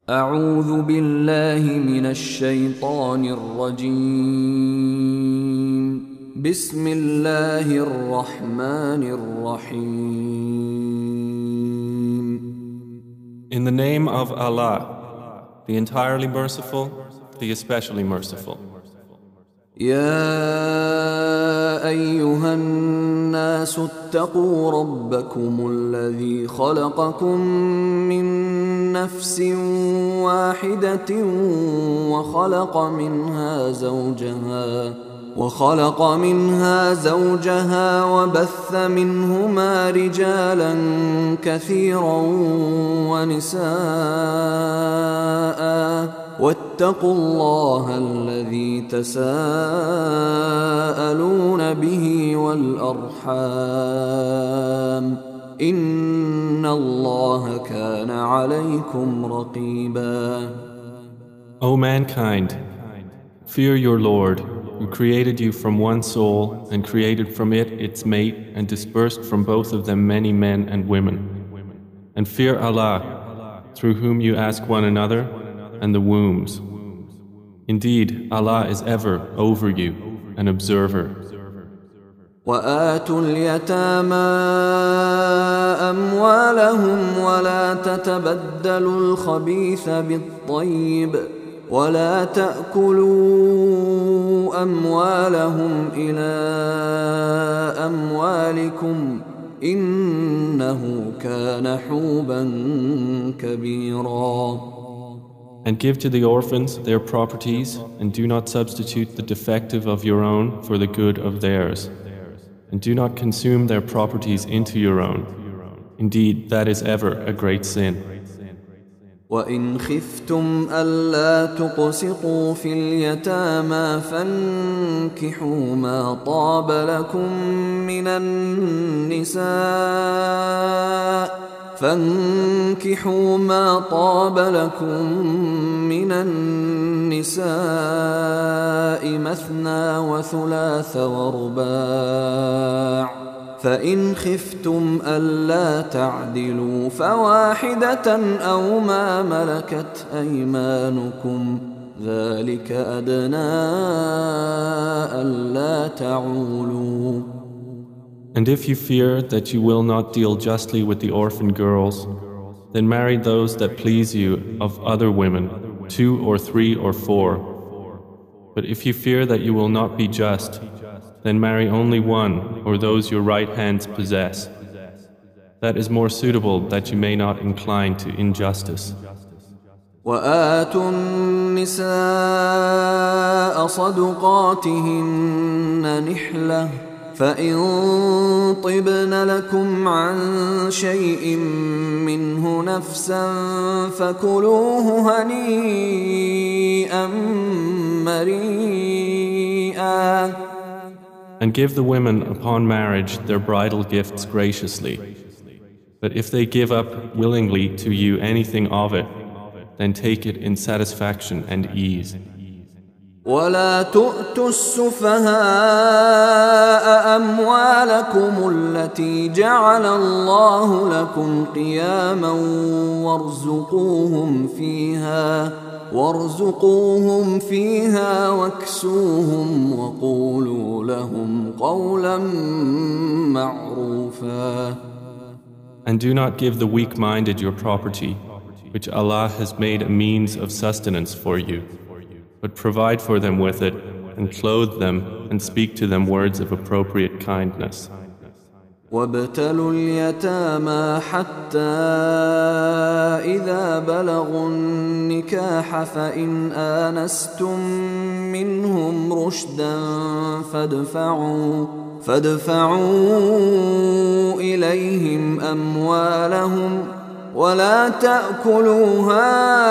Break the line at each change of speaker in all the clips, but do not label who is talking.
أعوذ بالله من الشيطان الرجيم. بسم الله الرحمن الرحيم.
In the name of Allah, the entirely merciful, the especially merciful.
يا أيها الناس اتقوا ربكم الذي خلقكم من نفس واحدة وخلق منها زوجها وبث منهما رجالا كثيرا ونساء واتقوا الله الذي تساءلون به والأرحام إن الله كان عليكم رقيبا.
O mankind, fear your Lord, who created you from one soul and created from it its mate and dispersed from both of them many men and women. And fear Allah, through whom you ask one another, and the wombs. Indeed, Allah is ever over you, an observer.
وآتوا اليتامى أموالهم ولا تتبدلوا الخبيث بالطيب ولا تأكلوا أموالهم إلى أموالكم إنه كان حوبا كبيرا.
And give to the orphans their properties, and do not substitute the defective of your own for the good of theirs. And do not consume their properties into your own. Indeed, that is ever a great sin.
وَإِنْ خِفْتُمْ أَلَّا تُقْسِطُوا فِي الْيَتَامَى فَانكِحُوا ما طاب لكم من النساء مثنى وثلاث ورباع فإن خفتم ألا تعدلوا فواحدة أو ما ملكت أيمانكم ذلك أدنى ألا تعولوا.
And if you fear that you will not deal justly with the orphan girls, then marry those that please you of other women, 2 or 3 or 4. But if you fear that you will not be just, then marry only one or those your right hands possess. That is more suitable that you may not incline to injustice.
وآتوا النساء صدقاتهن نحلة فإن طبن لكم عن شيء منه نفسا فكلوه هنيئا مريئا.
And give the women upon marriage their bridal gifts graciously. But if they give up willingly to you anything of it, then take it in satisfaction and ease.
ولا تؤتوا السفهاء أموالكم التي جعل الله لكم قياما وارزقوهم فيها واكسوهم وقولوا لهم قولا معروفا.
And do not give the weak-minded your property, which Allah has made a means of sustenance for you, but provide for them with it, and clothe them, and speak to them words of appropriate kindness.
وابتلوا اليتامى حتى إذا بلغوا النكاح فإن آنستم منهم رشدا فادفعوا إليهم أموالهم ولا تأكلوها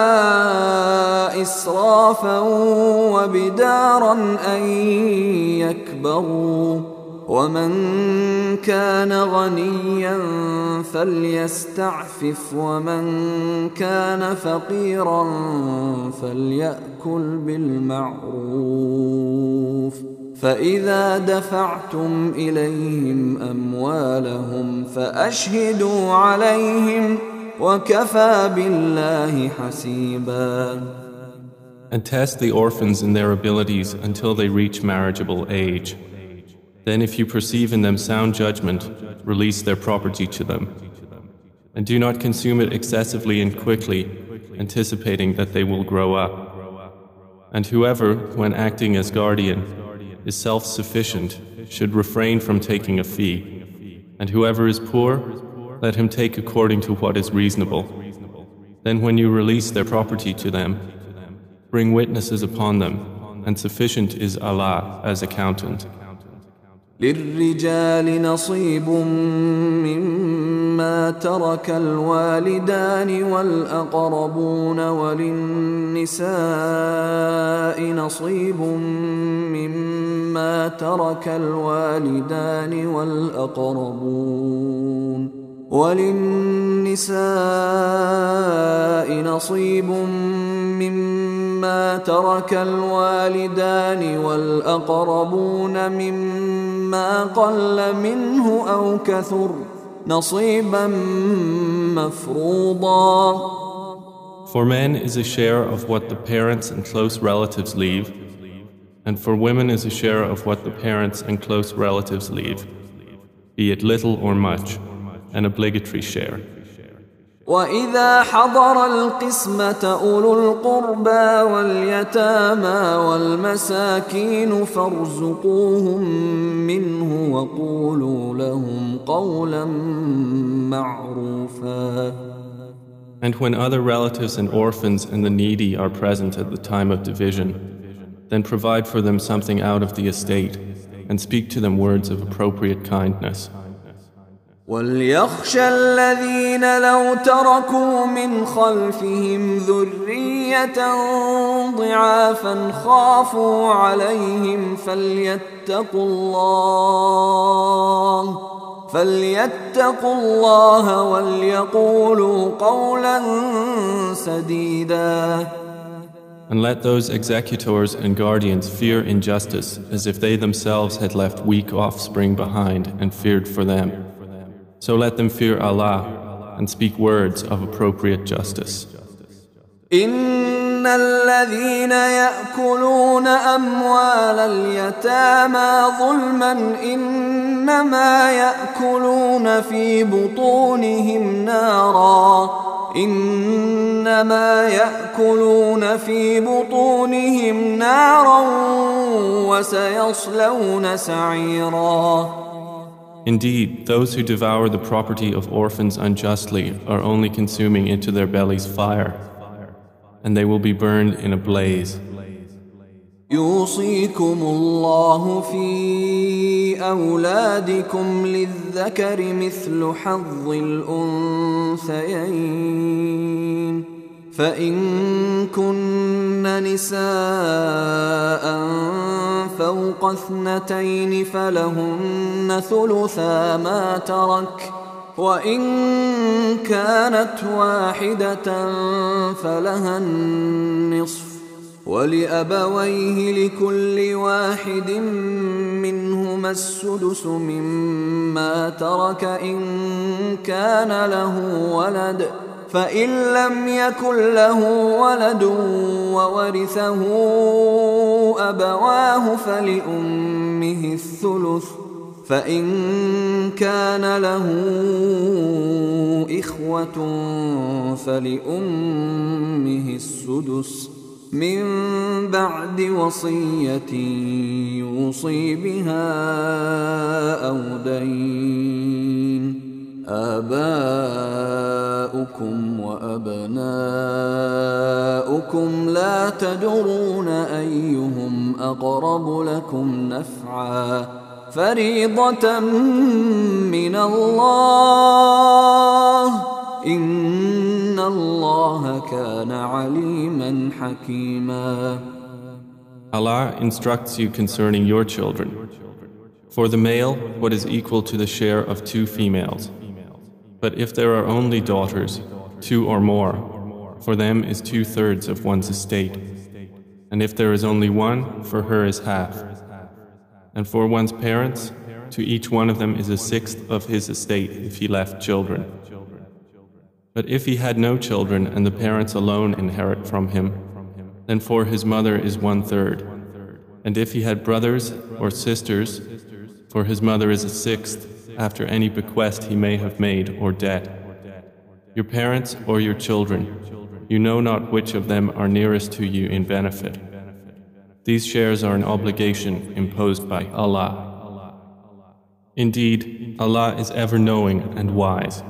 إسرافا وبدارا أن يكبروا ومن كان غنيا فليستعفف ومن كان فقيرا فليأكل بالمعروف فإذا دفعتم إليهم أموالهم فأشهدوا عليهم وكفى بالله حسيبا.
And test the orphans in their abilities until they reach marriageable age. Then if you perceive in them sound judgment, release their property to them. And do not consume it excessively and quickly, anticipating that they will grow up. And whoever, when acting as guardian, is self-sufficient, should refrain from taking a fee. And whoever is poor, let him take according to what is reasonable. Then when you release their property to them, bring witnesses upon them, and sufficient is Allah as accountant.
للرجال نصيب مما ترك الوالدان والأقربون وللنساء نصيب مما ترك الوالدان والأقربون مما قل منه أو كثر نصيبا مفروضا.
For men is a share of what the parents and close relatives leave, and for women is a share of what the parents and close relatives leave, be it little or much, an obligatory share.
وَإِذَا حَضَرَ الْقِسْمَةَ أُولُو الْقُرْبَى وَالْيَتَامَى وَالْمَسَاكِينُ فَارْزُقُوهُم مِّنْهُ وَقُولُوا لَهُمْ قَوْلًا مَّعْرُوفًا.
And when other relatives and orphans and the needy are present at the time of division, then provide for them something out of the estate and speak to them words of appropriate kindness.
وَلْيَخْشَ الَّذِينَ لَوْ تَرَكُوا مِنْ خَلْفِهِمْ ذُرِّيَّةً ضِعَافًا خَافُوا عَلَيْهِمْ فَلْيَتَّقُوا اللَّهَ وَلْيَقُولُوا قَوْلًا سَدِيدًا.
And let those executors and guardians fear injustice as if they themselves had left weak offspring behind and feared for them. So let them fear Allah and speak words of appropriate justice.
إن الذين يأكلون أموال اليتامى ظلما إنما يأكلون في بطونهم نارا وسيصلون سعيرا.
Indeed, those who devour the property of orphans unjustly are only consuming into their bellies fire, and they will be burned in a blaze.
يوصيكم الله في أولادكم للذكر مثل حظ الأنثيين فإن كن نساء فوق 2 فلهن ثلثا ما ترك وإن كانت واحدة فلها النصف ولأبويه لكل واحد منهما السدس مما ترك إن كان له ولد فإن لم يكن له ولد وورثه أبواه فلأمه الثلث فإن كان له إخوة فلأمه السدس من بعد وصية يوصي بها أو دين آباؤكم وأبناؤكم لا تدرون أيهم أقرب لكم نفعا فريضة من الله إن الله كان عليما حكيما.
Allah instructs you concerning your children. For the male, what is equal to the share of 2 females. But if there are only daughters, 2 or more, for them is 2/3 of one's estate. And if there is only one, for her is half. And for one's parents, to each one of them is 1/6 of his estate if he left children. But if he had no children and the parents alone inherit from him, then for his mother is 1/3. And if he had brothers or sisters, for his mother is a 1/6 after any bequest he may have made or debt. Your parents or your children, you know not which of them are nearest to you in benefit. These shares are an obligation imposed by Allah. Indeed, Allah is ever knowing and wise.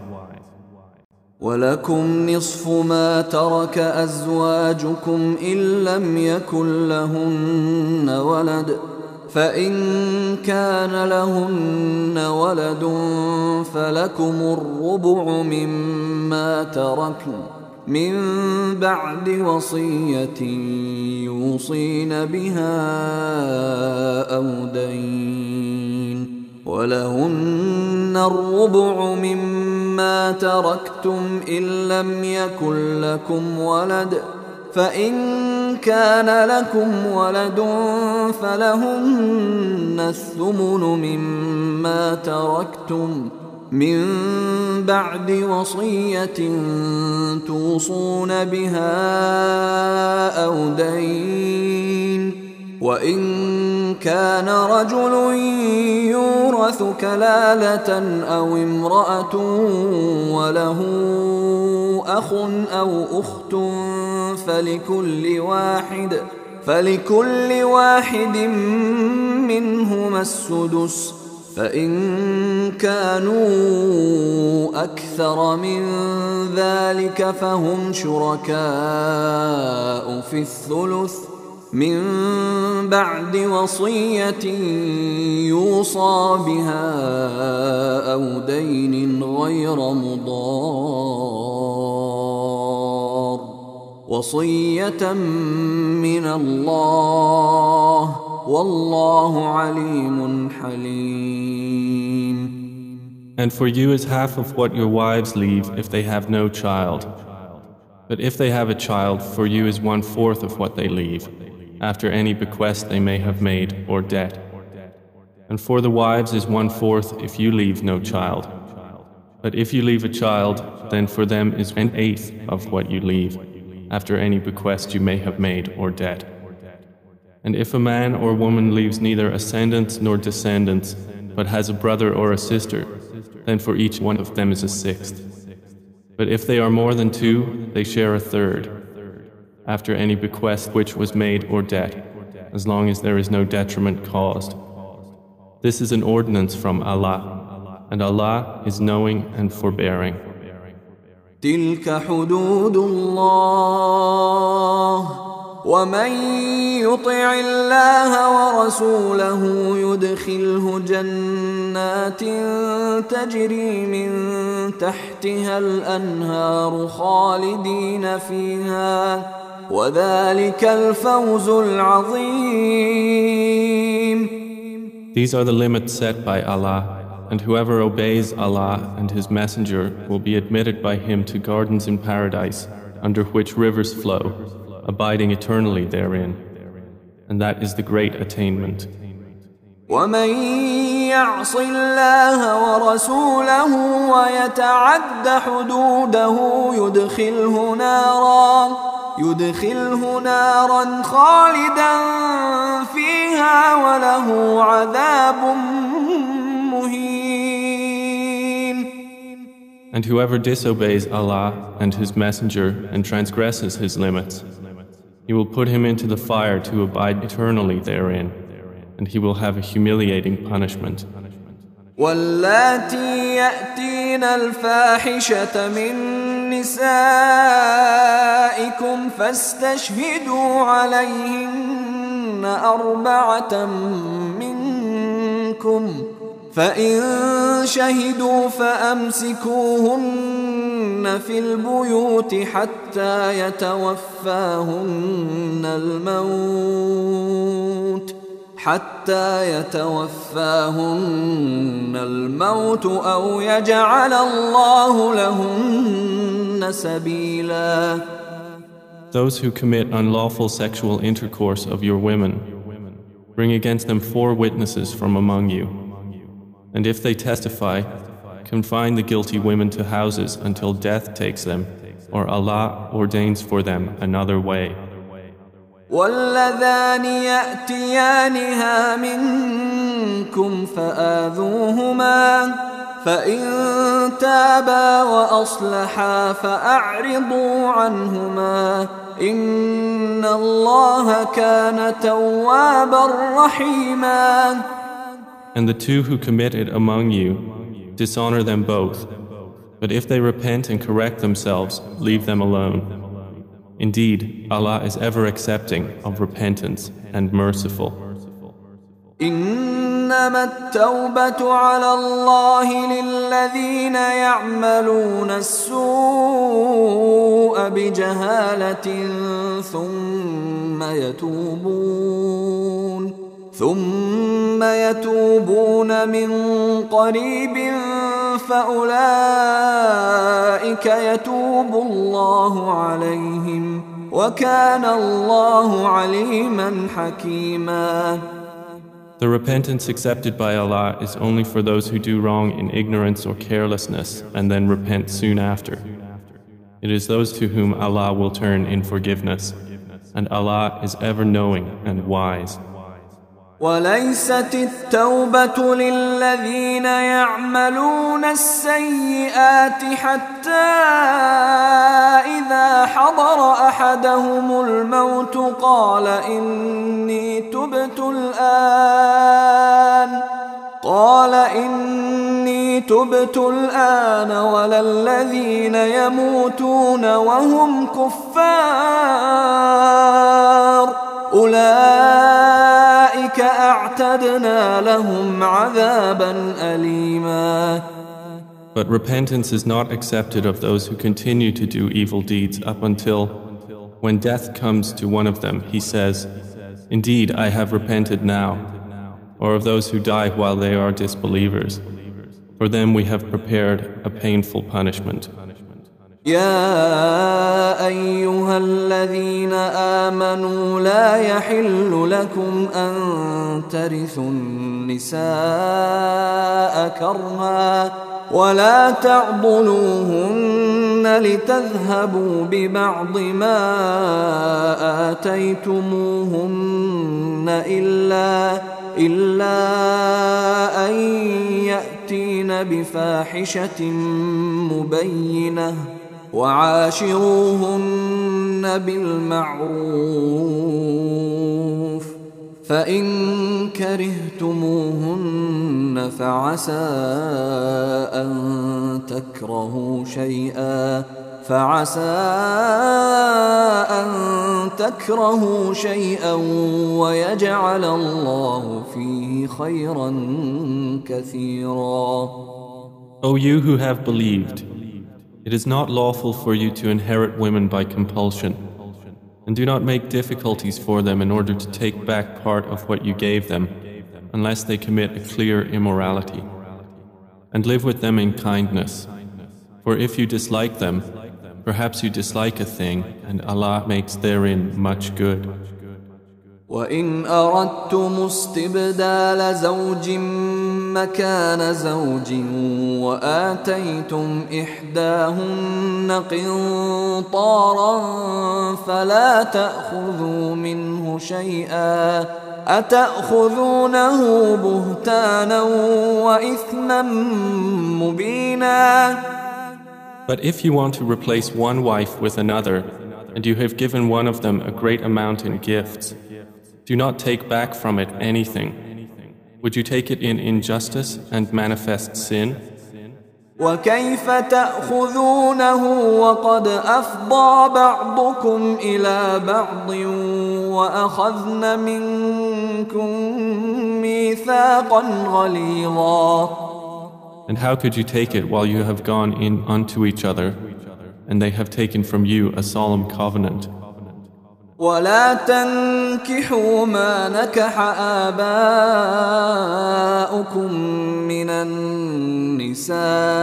ولكم نصف ما ترك أزواجكم إن لم يكن لهن ولد فإن كان لهن ولد فلكم الربع مما تركن من بعد وصية يوصين بها أو دين ولهن الربع مما تركتم إن لم يكن لكم ولد فإن كان لكم ولد فلهن الثمن مما تركتم من بعد وصية توصون بها أو دين وإن كان رجل يورث كلالة أو امرأة وله أخ أو أخت فلكل واحد منهما السدس فإن كانوا أكثر من ذلك فهم شركاء في الثلث من بعد وصية يوصى بها أو دين غير مضار وصية من الله والله عليم حليم.
And for you is half of what your wives leave if they have no child. But if they have a child, for you is 1/4 of what they leave, after any bequest they may have made or debt. And for the wives is 1/4 if you leave no child. But if you leave a child, then for them is 1/8 of what you leave, after any bequest you may have made or debt. And if a man or woman leaves neither ascendants nor descendants, but has a brother or a sister, then for each one of them is a 1/6. But if they are more than 2, they share a 1/3, after any bequest which was made or debt, as long as there is no detriment caused. This is an ordinance from Allah, and Allah is knowing and forbearing.
تلك حدود الله ومن يطع الله ورسوله يدخله جنات تجري من تحتها الأنهار خالدين فيها وذلك الفوز العظيم.
These are the limits set by Allah, and whoever obeys Allah and His Messenger will be admitted by Him to gardens in paradise, under which rivers flow, abiding eternally therein. And that is the great attainment.
ومن يعص الله ورسوله ويتعد حدوده يدخله نارا خالدا فيها وله عذاب مهين.
And whoever disobeys Allah and His Messenger and transgresses His limits, He will put him into the fire to abide eternally therein, and he will have a humiliating punishment.
واللاتي يأتين الفاحشة من نسائكم فاستشهدوا عليهن 4 منكم فإن شهدوا فأمسكوهن في البيوت حتى يتوفاهن الموت أو يجعل الله لهن سبيلا.
Those who commit unlawful sexual intercourse of your women, bring against them 4 witnesses from among you. And if they testify, confine the guilty women to houses until death takes them, or Allah ordains for them another way.
واللذان يأتيانها منكم فآذوهما فإن تابا وأصلحا فأعرضوا عنهما إن الله كان توابا رحيما.
And the two who commit it among you, dishonor them both. But if they repent and correct themselves, leave them alone. Indeed, Allah is ever accepting of repentance and merciful.
إنما التوبة على الله للذين يعملون السوء بجهالة ثم يتوبون من قريب فأولئك يتوب الله عليهم وكان الله عليما حكيما.
The repentance accepted by Allah is only for those who do wrong in ignorance or carelessness and then repent soon after. It is those to whom Allah will turn in forgiveness, and Allah is ever knowing and wise.
وليست التوبة للذين يعملون السيئات حتى إذا حضر أحدهم الموت قال إني تبت الآن ولا الذين يموتون وهم كفار أولئك أعتدنا لهم عذابا أليما.
But repentance is not accepted of those who continue to do evil deeds up until, when death comes to one of them, he says, "Indeed, I have repented now," or of those who die while they are disbelievers. For them we have prepared a painful punishment.
يا أيها الذين آمنوا لا يحل لكم أن ترثوا النساء كرها ولا تعضلوهن لتذهبوا ببعض ما آتيتموهن إلا أن يأتين بفاحشة مبينة وعاشروهن بالمعروف فإن كرهتموهن فعسى أن تكرهوا شيئا ويجعل الله فيه خيرا كثيرا.
O you who have believed, it is not lawful for you to inherit women by compulsion, and do not make difficulties for them in order to take back part of what you gave them, unless they commit a clear immorality. And live with them in kindness, for if you dislike them, perhaps you dislike a thing, and Allah makes therein much good.
وإن أردتم استبدال زوج مكان زوج وآتيتم إحداهن قنطارا فلا تأخذوا منه شيئا أتأخذونه بهتانا وإثما مبينا.
But if you want to replace one wife with another, and you have given one of them a great amount in gifts, do not take back from it anything. Would you take it in injustice and manifest sin?
وكيف تأخذونه وقد أفضى بعضكم إلى بعض وأخذن منكم ميثاقا غليظا.
And how could you take it while you have gone in unto each other, and they have taken from you a solemn covenant?
ولا تنكحوا ما نكح آباؤكم من النساء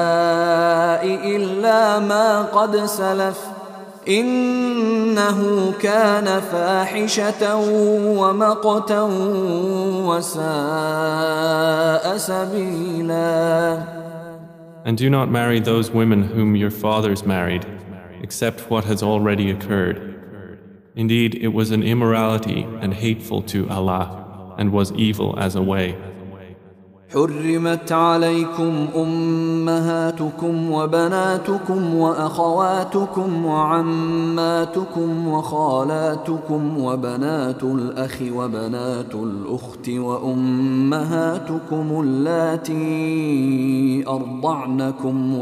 إلا ما قد سلف إنه كان فاحشة ومقتا وساء سبيلا.
And do not marry those women whom your fathers married, except what has already occurred. Indeed, it was an immorality and hateful to Allah, and was evil as a way.
حرمت عليكم أمهاتكم وبناتكم وأخواتكم وعماتكم وخالاتكم وبنات الأخ وبنات الأخت وأمهاتكم اللاتي أرضعنكم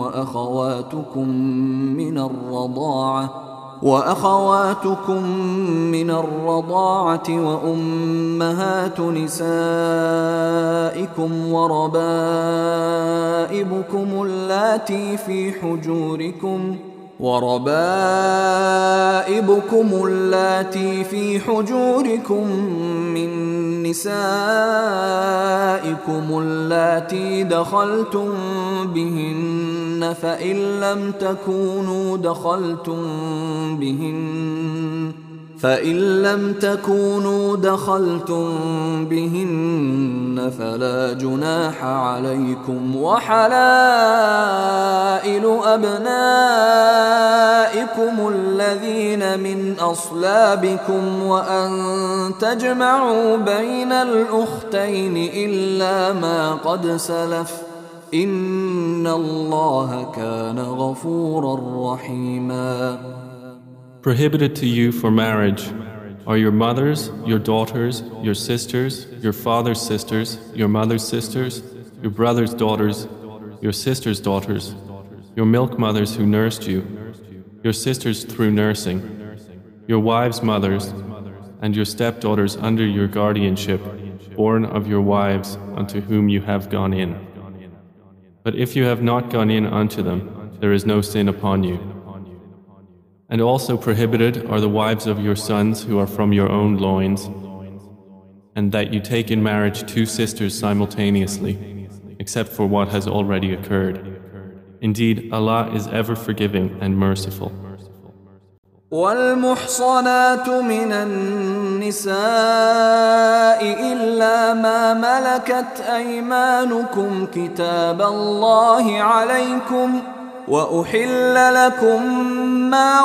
وأخواتكم من الرضاعة وأمهات نسائكم وربائبكم اللاتي في حجوركم من نسائكم اللاتي دخلتم بهن فإن لم تكونوا دخلتم بهن فلا جناح عليكم وحلائل أبنائكم الذين من أصلابكم وأن تجمعوا بين الأختين إلا ما قد سلف إن الله كان غفورا رحيما.
Prohibited to you for marriage are your mothers, your daughters, your sisters, your father's sisters, your mother's sisters, your brother's daughters, your sister's daughters, your milk mothers who nursed you, your sisters through nursing, your wives' mothers, and your stepdaughters under your guardianship, born of your wives unto whom you have gone in. But if you have not gone in unto them, there is no sin upon you. And also prohibited are the wives of your sons who are from your own loins, and that you take in marriage two sisters simultaneously, except for what has already occurred. Indeed, Allah is ever forgiving and merciful.
والمحصنات من النساء إلا ما ملكت أيمانكم كتاب الله عليكم وأحل لكم ما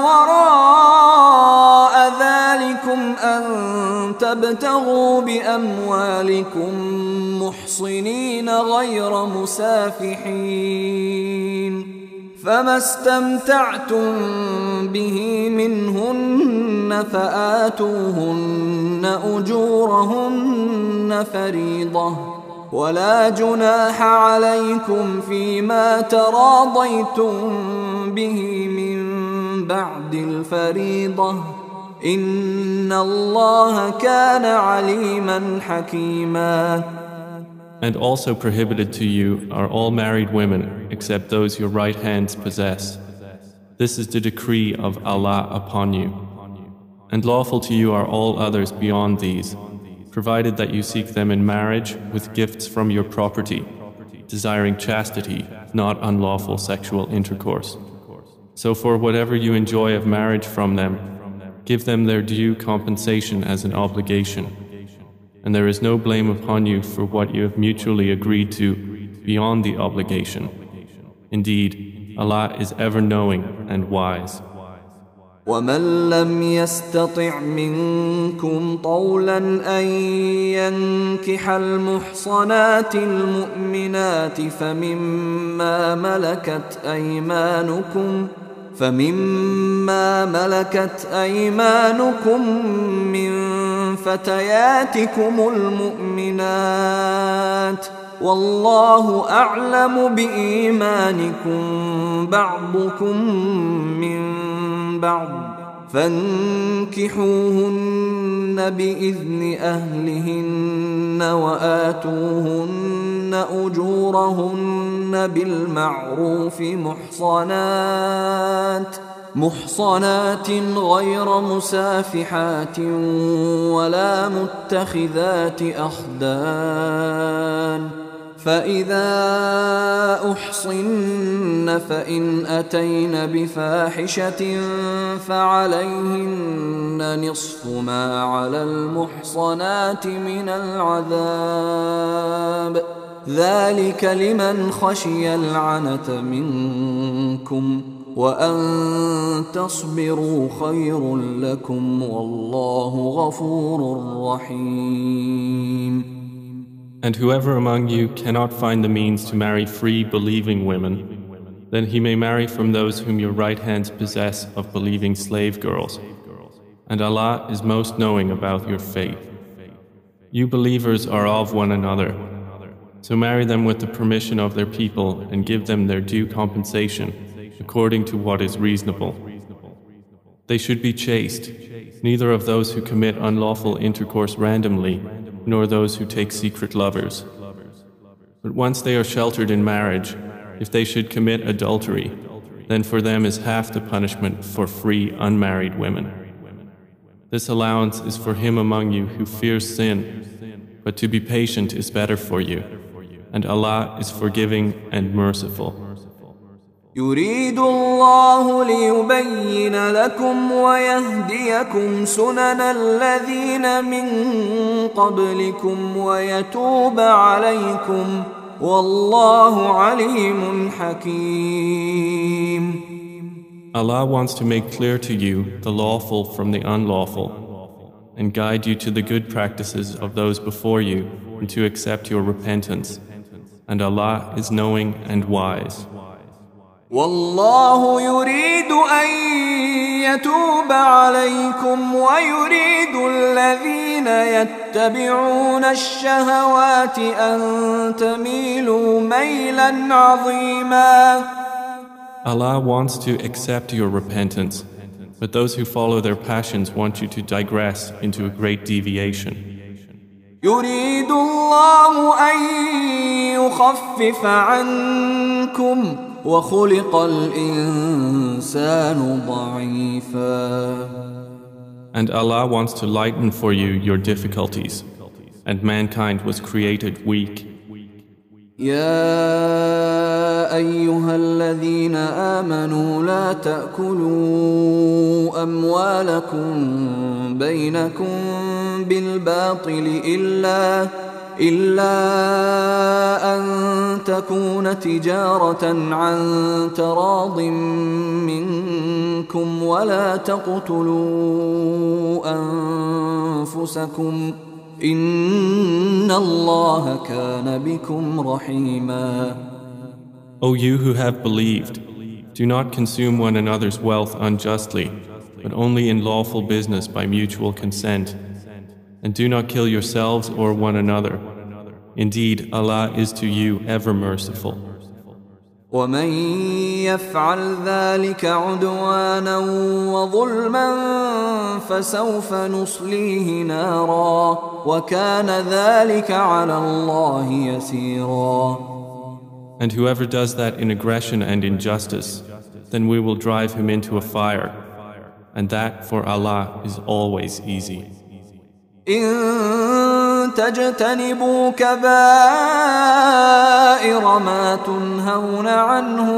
وراء ذلكم أن تبتغوا بأموالكم محصنين غير مسافحين فما استمتعتم به منهن فآتوهن أجورهن فريضة ولا جناح عليكم فيما تراضيتم به من بعد الفريضة إن الله كان عليما حكيما.
And also prohibited to you are all married women except those your right hands possess. This is the decree of Allah upon you. And lawful to you are all others beyond these, provided that you seek them in marriage with gifts from your property, desiring chastity, not unlawful sexual intercourse. So for whatever you enjoy of marriage from them, give them their due compensation as an obligation. And there is no blame upon you for what you have mutually agreed to beyond the obligation. Indeed, Allah is ever knowing and wise.
ومن لم يستطع منكم طولا أن ينكح المحصنات المؤمنات فمما ملكت أيمانكم من فتياتكم المؤمنات والله أعلم بإيمانكم بعضكم من بعض فانكحوهن بإذن أهلهن وآتوهن أجورهن بالمعروف محصنات غير مسافحات ولا متخذات أخدان فإذا أحصن فإن أتين بفاحشة فعليهن نصف ما على المحصنات من العذاب ذلك لمن خشي العنة منكم وأن تصبروا خير لكم والله غفور رحيم.
And whoever among you cannot find the means to marry free believing women, then he may marry from those whom your right hands possess of believing slave girls. And Allah is most knowing about your fate. You believers are of one another, so marry them with the permission of their people and give them their due compensation according to what is reasonable. They should be chaste, neither of those who commit unlawful intercourse randomly, nor those who take secret lovers. But once they are sheltered in marriage, if they should commit adultery, then for them is half the punishment for free unmarried women. This allowance is for him among you who fears sin, but to be patient is better for you, and Allah is forgiving and merciful.
يريد الله ليبين لكم ويهديكم سنن الذين من قبلكم ويتوب عليكم والله عليم حكيم.
Allah wants to make clear to you the lawful from the unlawful and guide you to the good practices of those before you and to accept your repentance. And Allah is knowing and wise.
والله يريد أن يتوب عليكم ويريد الذين يتبعون الشهوات أن تميلوا ميلا عظيما.
Allah wants to accept your repentance, but those who follow their passions want you to digress into a great deviation.
يريد الله أن يخفف عنكم وخلق الإنسان ضعيفا.
And Allah wants to lighten for you your difficulties, and mankind was created weak.
يا أيها الذين آمنوا لا تأكلوا أموالكم بينكم بالباطل إلا أن تكون تجارة عن تراض منكم ولا تقتلوا أنفسكم إن الله كان بكم رحيما.
O you who have believed, do not consume one another's wealth unjustly, but only in lawful business by mutual consent. And do not kill yourselves or one another. Indeed, Allah is to you ever merciful.
ومن يفعل ذلك عدوانا وظلما فسوف نصليه نارا وكان ذلك على الله يسيرا.
And whoever does that in aggression and injustice, then we will drive him into a fire, and that for Allah is always easy.
إن تجتنبوا كبائر ما تنهون عنه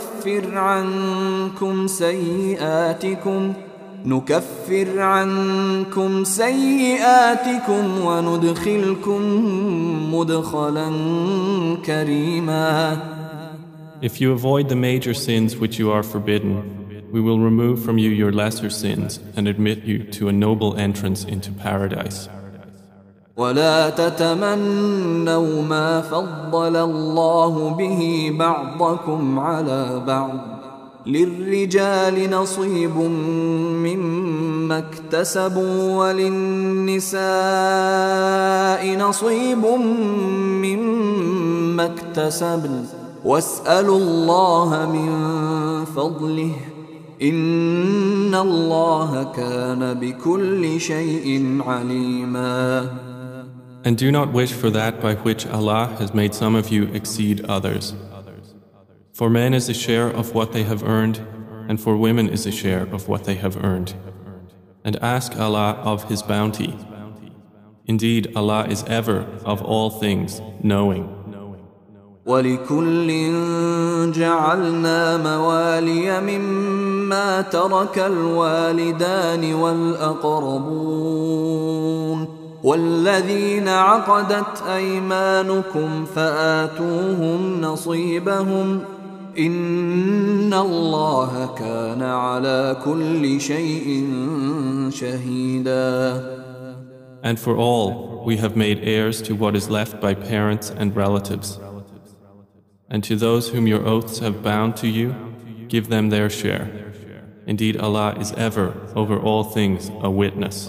نكفر عنكم سيئاتكم وندخلكم مدخلا كريما.
If you avoid the major sins which you are forbidden, we will remove from you your lesser sins and admit you to a noble entrance into paradise.
ولا تتمنوا ما فضل الله به بعضكم على بعض للرجال نصيب مما اكتسبوا وللنساء نصيب مما اكتسبن واسألوا الله من فضله إن الله كان بكل شيء عليما.
And do not wish for that by which Allah has made some of you exceed others. For men is a share of what they have earned, and for women is a share of what they have earned. And ask Allah of His bounty. Indeed, Allah is ever, of all things, knowing.
وَلِكُلٍّ جَعَلْنَا مَوَالِيَ مِمَّا تَرَكَ الْوَالِدَانِ وَالْأَقْرَبُونَ والذين عقدت أيمانكم فآتوهم نصيبهم إن الله كان على كل شيء شهيدا.
And for all, we have made heirs to what is left by parents and relatives. And to those whom your oaths have bound to you, give them their share. Indeed, Allah is ever, over all things, a witness.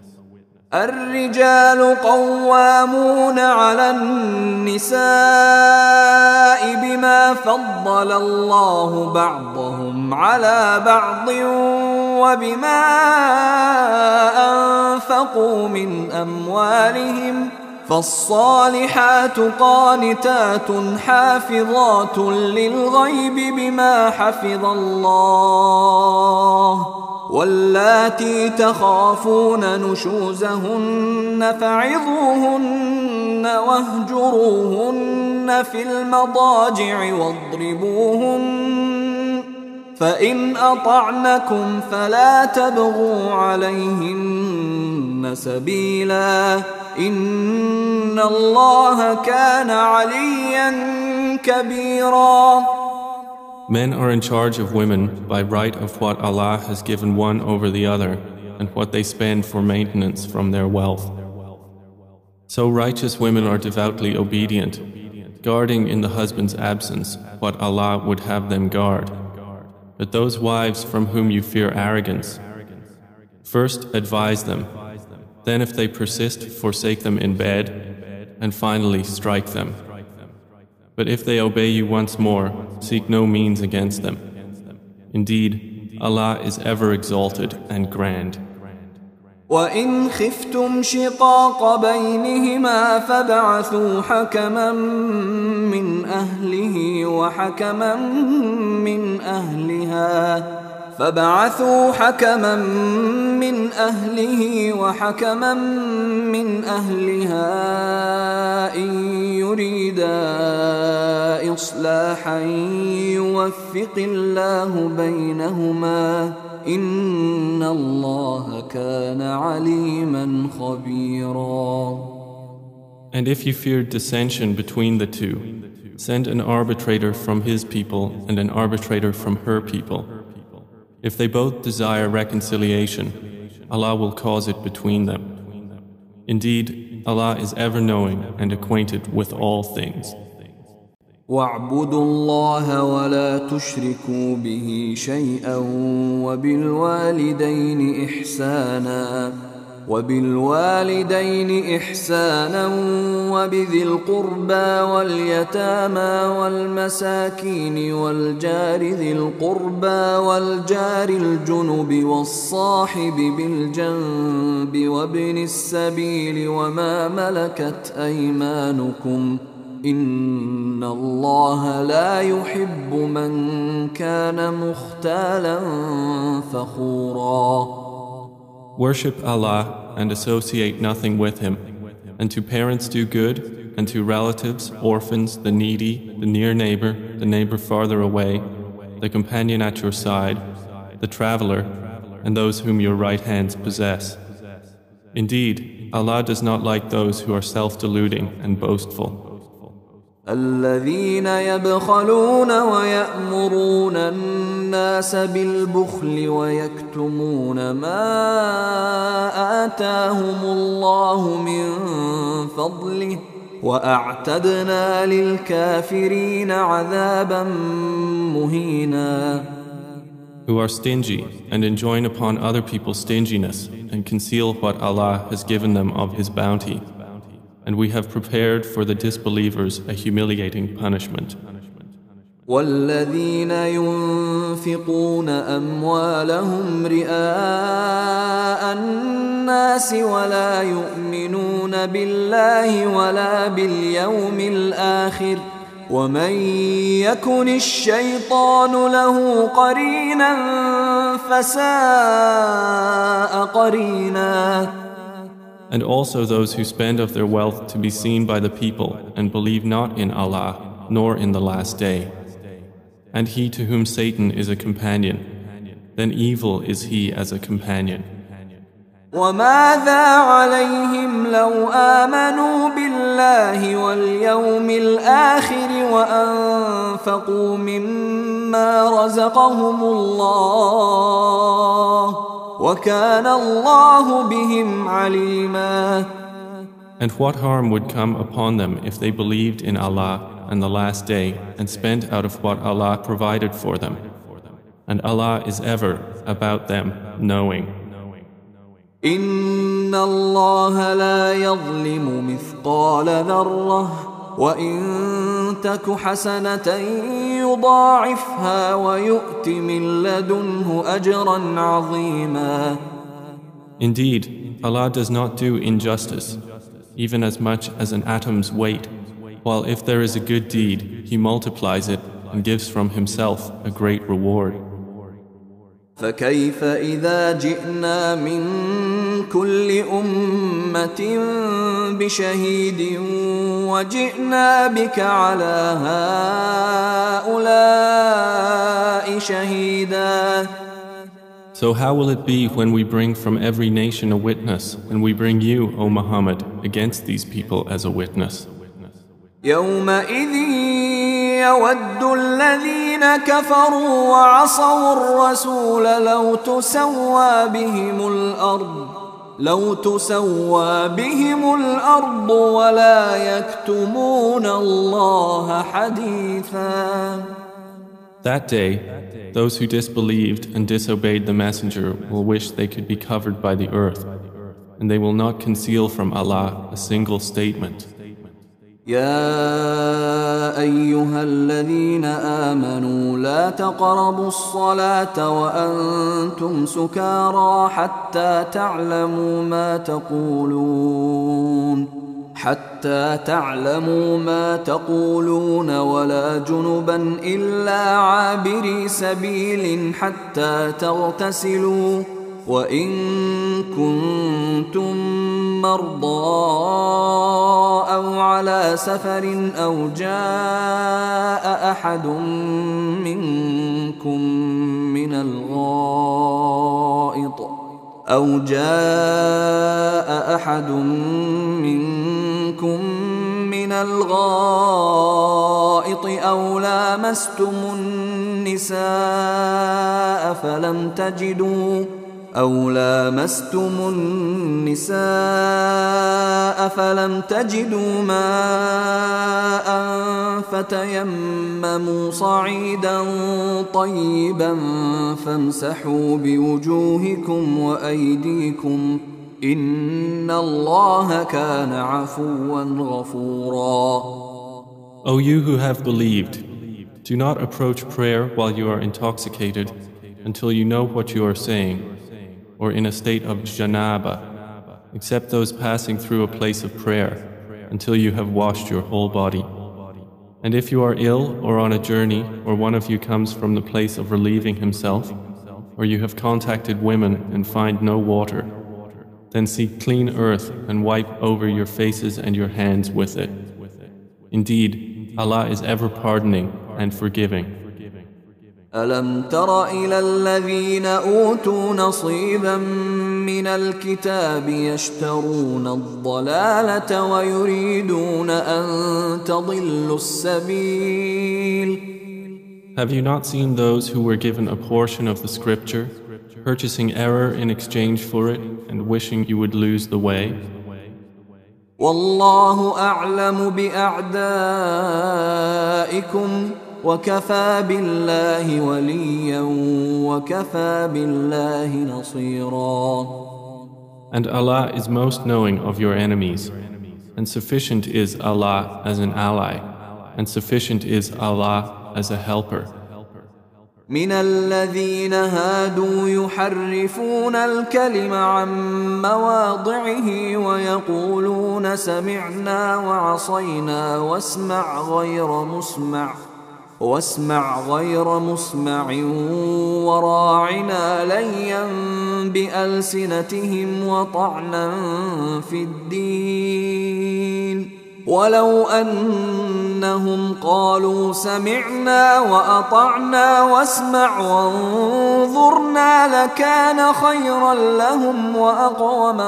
الرجال قوامون على النساء بما فضل الله بعضهم على بعض وبما أنفقوا من أموالهم فالصالحات قانتات حافظات للغيب بما حفظ الله واللاتي تخافون نشوزهن فعظوهن واهجروهن في المضاجع واضربوهن فإن أطعنكم فلا تبغوا عليهن سبيلا إن الله كان عليا كبيرا.
Men are in charge of women by right of what Allah has given one over the other and what they spend for maintenance from their wealth. So righteous women are devoutly obedient, guarding in the husband's absence what Allah would have them guard. But those wives from whom you fear arrogance, first advise them, then if they persist, forsake them in bed, and finally strike them. But if they obey you once more, seek no means against them. Indeed, Allah is ever exalted and grand.
وَإِنْ خِفْتُمْ شِقَاقَ بَيْنِهِمَا فَابْعَثُوا حَكَمًا مِّنْ أَهْلِهِ وَحَكَمًا مِّنْ أَهْلِهَا فبعثوا حكما من أهله وحكما من أهلها إن يريدا إصلاحا يوفق الله بينهما إن الله كان عليما خبيرا.
And if you fear dissension between the two, send an arbitrator from his people and an arbitrator from her people. If they both desire reconciliation, Allah will cause it between them. Indeed, Allah is ever knowing and acquainted with all things.
وَاعْبُدُوا اللَّهَ وَلَا تُشْرِكُوا بِهِ شَيْئًا وبالوالدين إحسانا وبذي القربى واليتامى والمساكين والجار ذي القربى والجار الجنب والصاحب بالجنب وابن السبيل وما ملكت أيمانكم إن الله لا يحب من كان مختالا فخورا.
Worship Allah and associate nothing with Him, and to parents do good, and to relatives, orphans, the needy, the near neighbor, the neighbor farther away, the companion at your side, the traveler, and those whom your right hands possess. Indeed, Allah does not like those who are self-deluding and boastful.
الذين يبخلون ويأمرون الناس بالبخل ويكتمون ما آتاهم الله من فضله وأعتدنا للكافرين عذابا مهينا.
Who are stingy and enjoin upon other people stinginess and conceal what Allah has given them of His bounty. And we have prepared for the disbelievers a humiliating punishment.
والذين ينفقون أموالهم رئاء الناس ولا يؤمنون بالله ولا باليوم الآخر ومن يكن الشيطان له قرينا فساء قرينا.
And also those who spend of their wealth to be seen by the people and believe not in Allah nor in the last day. And he to whom Satan is a companion, then evil is he as a companion.
وماذا عليهم لو آمنوا بالله واليوم الآخر وأنفقوا مما رزقهم الله وكان الله بهم عليما.
And what harm would come upon them if they believed in Allah and the Last Day and spent out of what Allah provided for them? And Allah is ever about them knowing.
إن الله لا يظلم مثقال ذرة وإن تك حسنة يضاعفها ويؤت من لدنه أجرا عظيما.
Indeed, Allah does not do injustice, even as much as an atom's weight, while if there is a good deed, He multiplies it and gives from Himself a great reward.
فكيف إذا جئنا من كل أمة بشهيد وجئنا بك على هؤلاء شهيدا.
So how will it be when we bring from every nation a witness, and we bring you, O Muhammad, against these people as a witness?
يومئذ يود الذين كفروا وعصوا الرسول لو تسوى بهم الأرض ولا يكتمون الله حديثا.
That day, those who disbelieved and disobeyed the Messenger will wish they could be covered by the earth, and they will not conceal from Allah a single statement.
يا أيها الذين آمنوا لا تقربوا الصلاة وأنتم سكارى حتى تعلموا ما تقولون ولا جنبا إلا عابري سبيل حتى تغتسلوا وإن كنتم مرضى أو على سفر أو جاء أحد منكم من الغائط أو لامستم النساء فلم تجدوا ماء فتيمموا صعيدا طيبا فامسحوا بوجوهكم وأيديكم إن الله كان عفوا غفورا.
O you who have believed, do not approach prayer while you are intoxicated until you know what you are saying, or in a state of janaba, except those passing through a place of prayer, until you have washed your whole body. And if you are ill or on a journey, or one of you comes from the place of relieving himself, or you have contacted women and find no water, then seek clean earth and wipe over your faces and your hands with it. Indeed, Allah is ever pardoning and forgiving.
ألم تر إلى الذين أوتوا نصيبا من الكتاب يشترون الضلالة ويريدون أن تضلوا السبيل.
Have you not seen those who were given a portion of the scripture, purchasing error in exchange for it and wishing you would lose the way?
والله أعلم بأعدائكم وكفى بالله وليا وكفى بالله نصيرا.
And Allah is most knowing of your enemies, and sufficient is Allah as an ally, and sufficient is Allah as a helper.
من الذين هادوا يحرفون الكلم عن مواضعه ويقولون سمعنا وعصينا واسمع غير مسمع وراعنا ليا بألسنتهم وطعنا في الدين ولو أنهم قالوا سمعنا وأطعنا واسمع وانظرنا لكان خيرا لهم وأقوم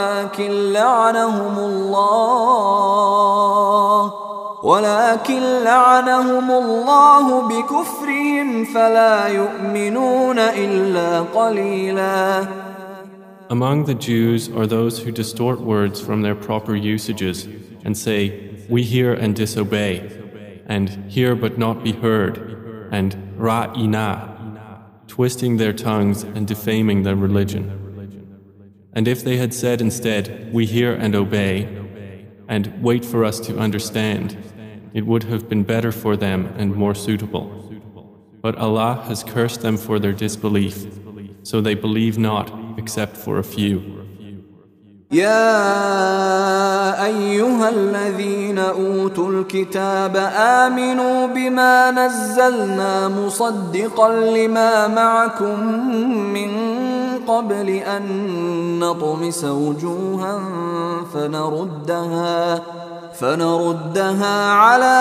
ولكن لعنهم الله بكفرهم فلا يؤمنون إلا قليلا.
Among the Jews are those who distort words from their proper usages and say, "We hear and disobey," and "hear but not be heard," and "ra'ina," twisting their tongues and defaming their religion. And if they had said instead, "We hear and obey," and "wait for us to understand," it would have been better for them and more suitable. But Allah has cursed them for their disbelief, so they believe not except for a few.
يا أيها الذين أوتوا الكتاب آمنوا بما نزلنا مصدقا لما معكم من قبل أن نطمس وجوها فنردها على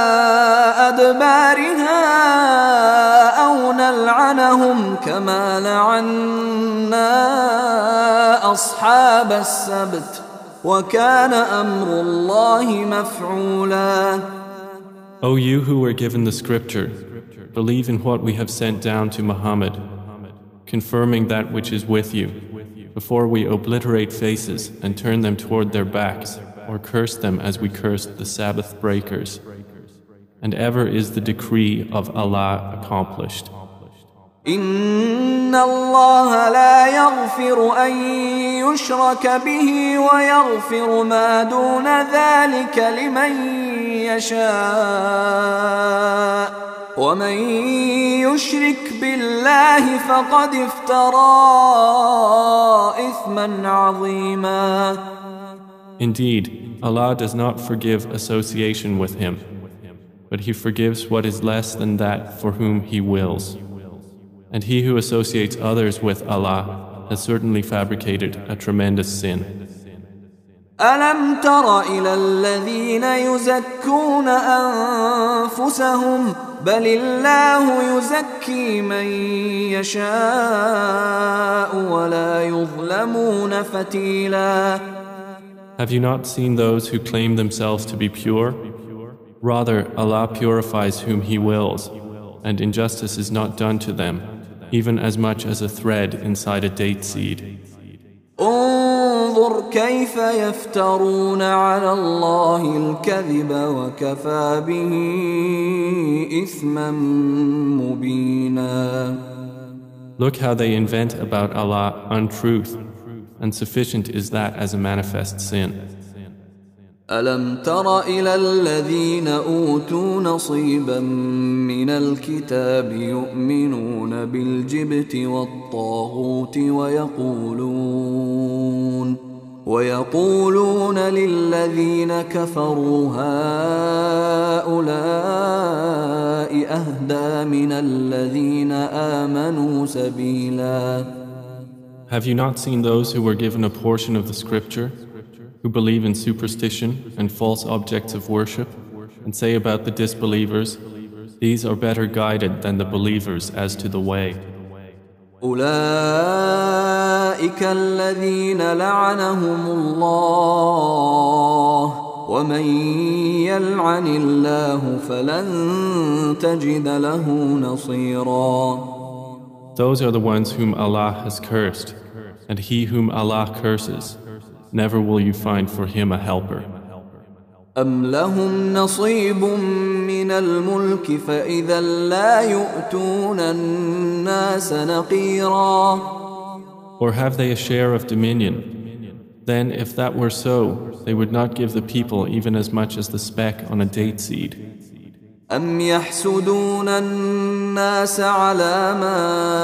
أدبارها أو نلعنهم كما لعنا أصحاب السبت وكان أمر الله مفعولا.
O you who were given the scripture, believe in what we have sent down to Muhammad, confirming that which is with you, before we obliterate faces and turn them toward their backs, or curse them as we cursed the Sabbath breakers. And ever is the decree of Allah accomplished.
إن الله لا يغفر أن يشرك به ويغفر ما دون ذلك لمن يشاء ومن يشرك بالله فقد افترى إثما عظيما.
Indeed, Allah does not forgive association with Him, but He forgives what is less than that for whom He wills. And he who associates others with Allah has certainly fabricated a tremendous sin.
ألم تر إلى الذين يزكون أنفسهم بل الله يزكي من يشاء ولا يظلمون فتيلا.
Have you not seen those who claim themselves to be pure? Rather, Allah purifies whom He wills, and injustice is not done to them, even as much as a thread inside a date seed.
انظر كيف يفترون على الله الكذب وكفى به إثما مبينا.
Look how they invent about Allah untruth, and sufficient is that as a manifest sin.
ألم تر إلى الذين أوتوا نصيبا من الكتاب يؤمنون بالجبت والطاغوت ويقولون للذين كفروا هؤلاء أهدى من الذين آمنوا سبيلا.
Have you not seen those who were given a portion of the scripture, who believe in superstition and false objects of worship, and say about the disbelievers, these are better guided than the believers as to the way.
أولئك الذين لعنهم الله ومن يلعن الله فلن تجد له نصيرا.
Those are the ones whom Allah has cursed, and he whom Allah curses, never will you find for him a helper.
أم لهم نصيب من الملك فإذا لا يؤتون الناس نقيرا.
Or have they a share of dominion? Then if that were so, they would not give the people even as much as the speck on a date seed.
أم يحسدون الناس على ما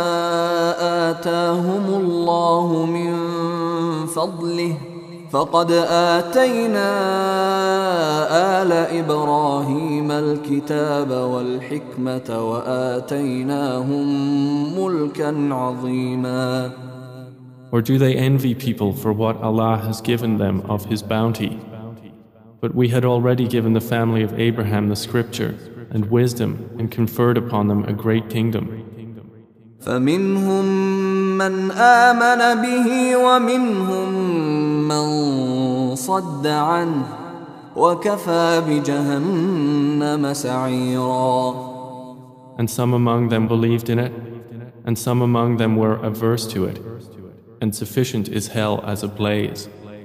آتاهم الله من فضله فقد آتينا آل إبراهيم الكتاب والحكمة وآتيناهم ملكا عظيما.
Or do they envy people for what Allah has given them of His bounty? But we had already given the family of Abraham the scripture and wisdom and conferred upon them a great kingdom.
فمنهم من آمن به ومنهم من صد عنه وكفى بجهنم سعيرا.
And some among them believed in it, and some among them were averse to it, and sufficient is hell as a blaze.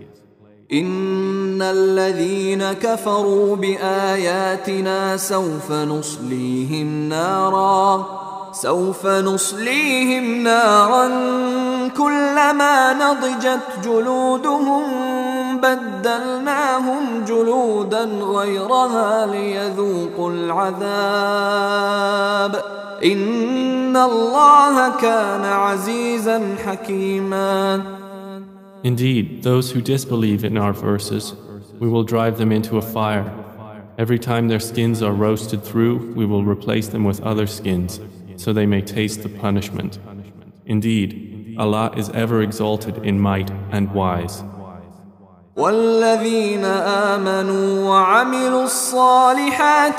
إن الذين كفروا بآياتنا سوف نصليهم نارا كلما نضجت جلودهم بدلناهم جلودا غيرها ليذوقوا العذاب إن الله كان عزيزا حكيما.
Indeed, those who disbelieve in our verses, we will drive them into a fire. Every time their skins are roasted through, we will replace them with other skins, so they may taste the punishment. Indeed, Allah is ever exalted in might and wise.
والذين آمنوا وعملوا الصالحات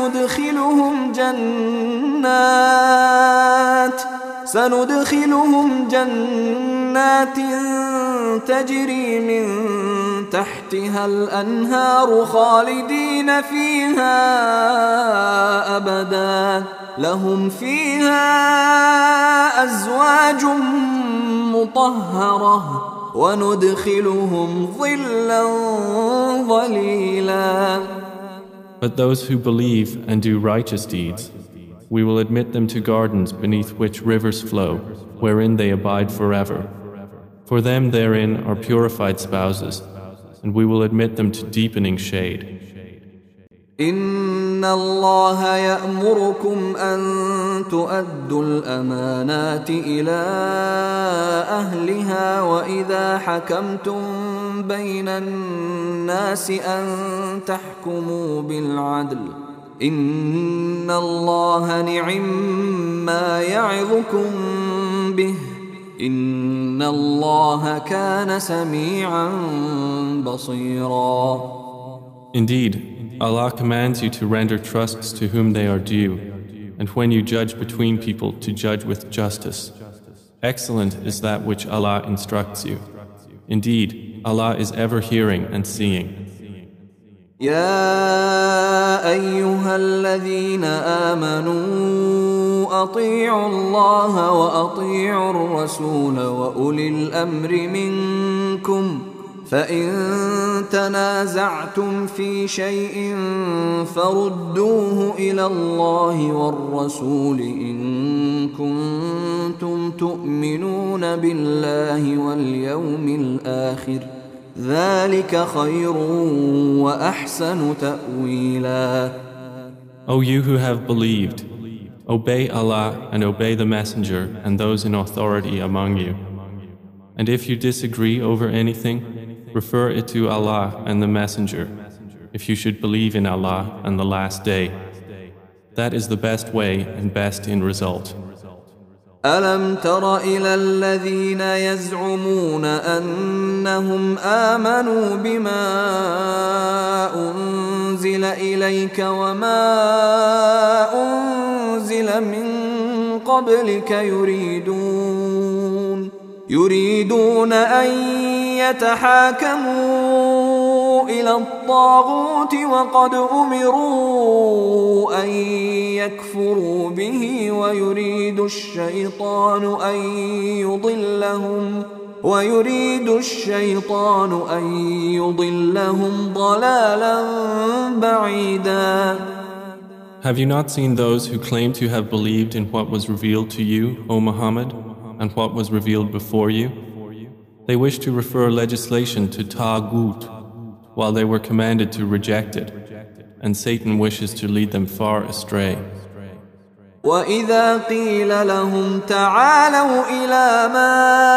سندخلهم جنات تجري من تحتها الأنهار خالدين فيها أبدا لهم فيها أزواج مطهرة وندخلهم ظلا ظليلا.
But those who believe and do righteous deeds, we will admit them to gardens beneath which rivers flow, wherein they abide forever. For them therein are purified spouses, and we will admit them to deepening shade.
إن الله يأمركم أن تؤدوا الأمانات إلى أهلها وإذا حكمتم بين الناس أن تحكموا بالعدل إن الله نعما يعظكم به إن الله كان سميعا بصيرا.
Indeed, Allah commands you to render trusts to whom they are due, and when you judge between people to judge with justice. Excellent is that which Allah instructs you. Indeed, Allah is ever hearing and seeing.
يا أيها الذين آمنوا أطيعوا الله وأطيعوا الرسول وأولي الأمر منكم فإن تنازعتم في شيء فردوه إلى الله والرسول إن كنتم تؤمنون بالله واليوم الآخر ذلك خير وأحسن تأويلا.
O you who have believed, obey Allah and obey the Messenger and those in authority among you. And if you disagree over anything, refer it to Allah and the Messenger, if you should believe in Allah and the Last Day. That is the best way and best in result.
ألم تر إلى الذين يزعمون أنهم آمنوا بما أنزل إليك وما أنزل من قبلك يريدون أن يتحاكموا إلى الطاغوت وقد أمروا أن يكفروا به ويريد الشيطان أن يضلهم ضلالا بعيدا.
Have you not seen those who claim to have believed in what was revealed to you, O Muhammad, and what was revealed before you? They wish to refer legislation to Taghut, while they were commanded to reject it, and Satan wishes to lead them far astray.
وَإِذَا قِيلَ لَهُمْ تَعَالَوْا إِلَى مَا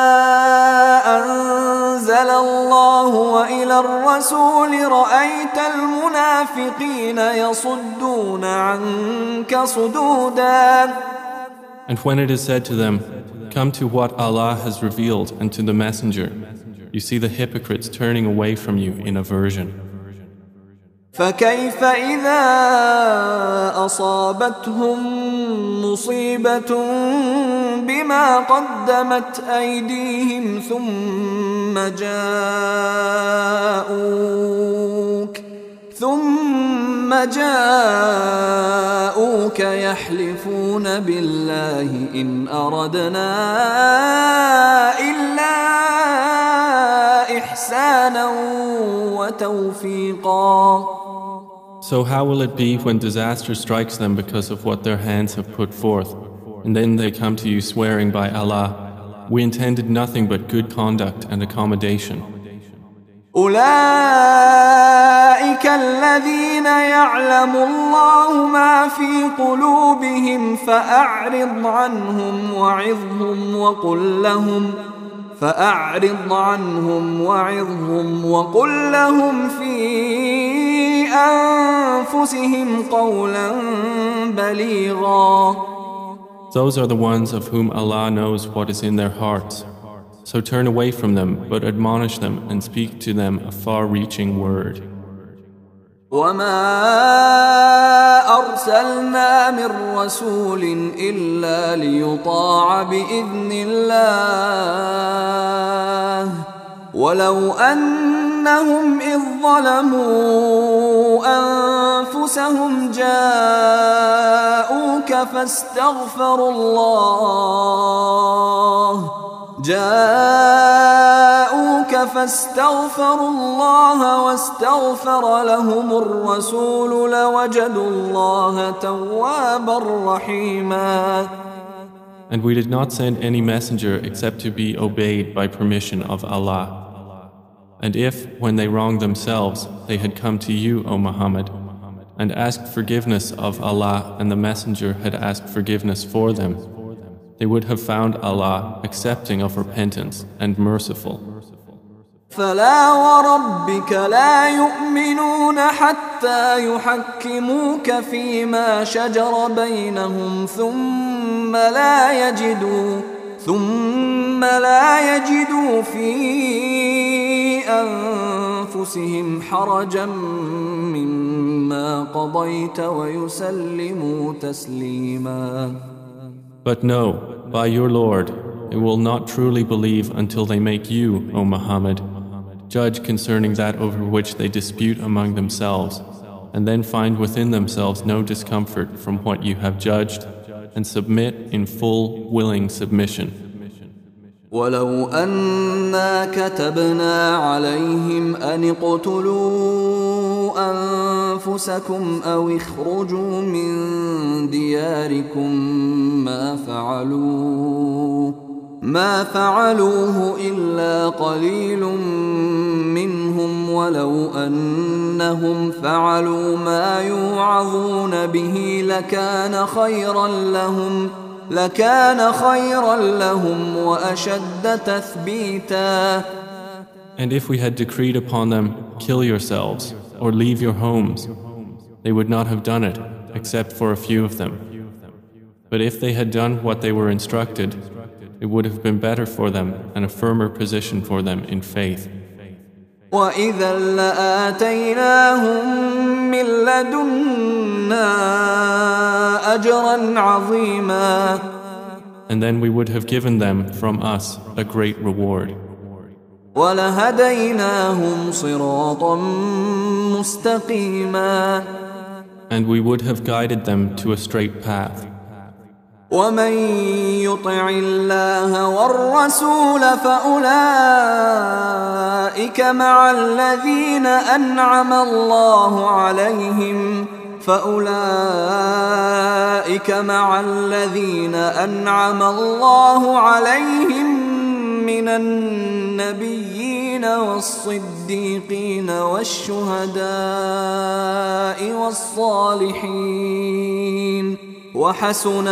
أَنزَلَ اللَّهُ وَإِلَى الرَّسُولِ رَأَيْتَ الْمُنَافِقِينَ يَصُدُّونَ عَنكَ صُدُودًا.
And when it is said to them, come to what Allah has revealed and to the Messenger, you see the hypocrites turning away from you in aversion.
فكيف إذا أصابتهم مصيبة بما قدمت أيديهم ثم جاءوك يحلفون بالله إن أردنا إلا إحسانا وتوفيقا.
So how will it be when disaster strikes them because of what their hands have put forth, and then they come to you swearing by Allah, we intended nothing but good conduct and accommodation.
أولئك الذين يعلم الله ما في قلوبهم فأعرض عنهم وعظهم وقل لهم في أنفسهم قولا بليغا.
Those are the ones of whom Allah knows what is in their hearts. So turn away from them, but admonish them and speak to them a far-reaching word.
وما أرسلنا من رسول إلا ليطاع بإذن الله ولو أنهم إذ ظلموا أنفسهم جاءوك فاستغفروا الله واستغفر لهم الرسول لوجدوا الله توابا رحيما.
And we did not send any messenger except to be obeyed by permission of Allah. And if, when they wronged themselves, they had come to you, O Muhammad, and asked forgiveness of Allah, and the messenger had asked forgiveness for them, they would have found Allah accepting of repentance and merciful.
فلا وربك لا يؤمنون حتى يحكموك فيما شجر بينهم ثم لا يجدوا في أنفسهم حرجا مما قضيت ويسلموا تسليما.
But no, by your Lord, they will not truly believe until they make you, O Muhammad, judge concerning that over which they dispute among themselves, and then find within themselves no discomfort from what you have judged, and submit in full, willing submission.
ولو أنا كتبنا عليهم أن اقتلوا أنفسكم أو اخرجوا من دياركم ما فعلوه إلا قليل منهم ولو أنهم فعلوا ما يوعظون به لكان خيرا لهم وأشد تثبيتا.
And if we had decreed upon them, kill yourselves, or leave your homes, they would not have done it, except for a few of them. But if they had done what they were instructed, it would have been better for them and a firmer position for them in faith.
وَإِذًا لَآتَيْنَاهُمْ مِنْ لَدُنَّا أَجْرًا عَظِيمًا.
And then we would have given them from us a great reward.
وَلَهَدَيْنَاهُمْ صِرَاطًا مُسْتَقِيمًا.
And we would have guided them to a straight path.
ومن يطع الله والرسول فأولئك مع الذين أنعم الله عليهم من النبيين والصديقين والشهداء والصالحين وحسن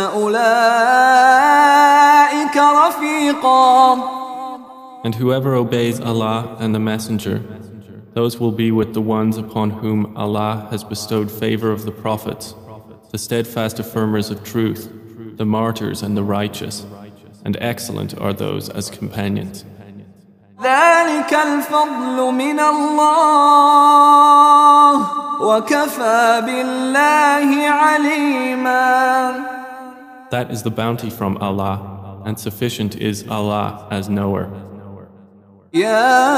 أولئك رفيقا.
And whoever obeys Allah and the Messenger, those will be with the ones upon whom Allah has bestowed favor of the prophets, the steadfast affirmers of truth, the martyrs and the righteous, and excellent are those as companions.
ذلك الفضل من الله وكفى بالله عليما.
That is the bounty from Allah, and sufficient is Allah as knower.
يا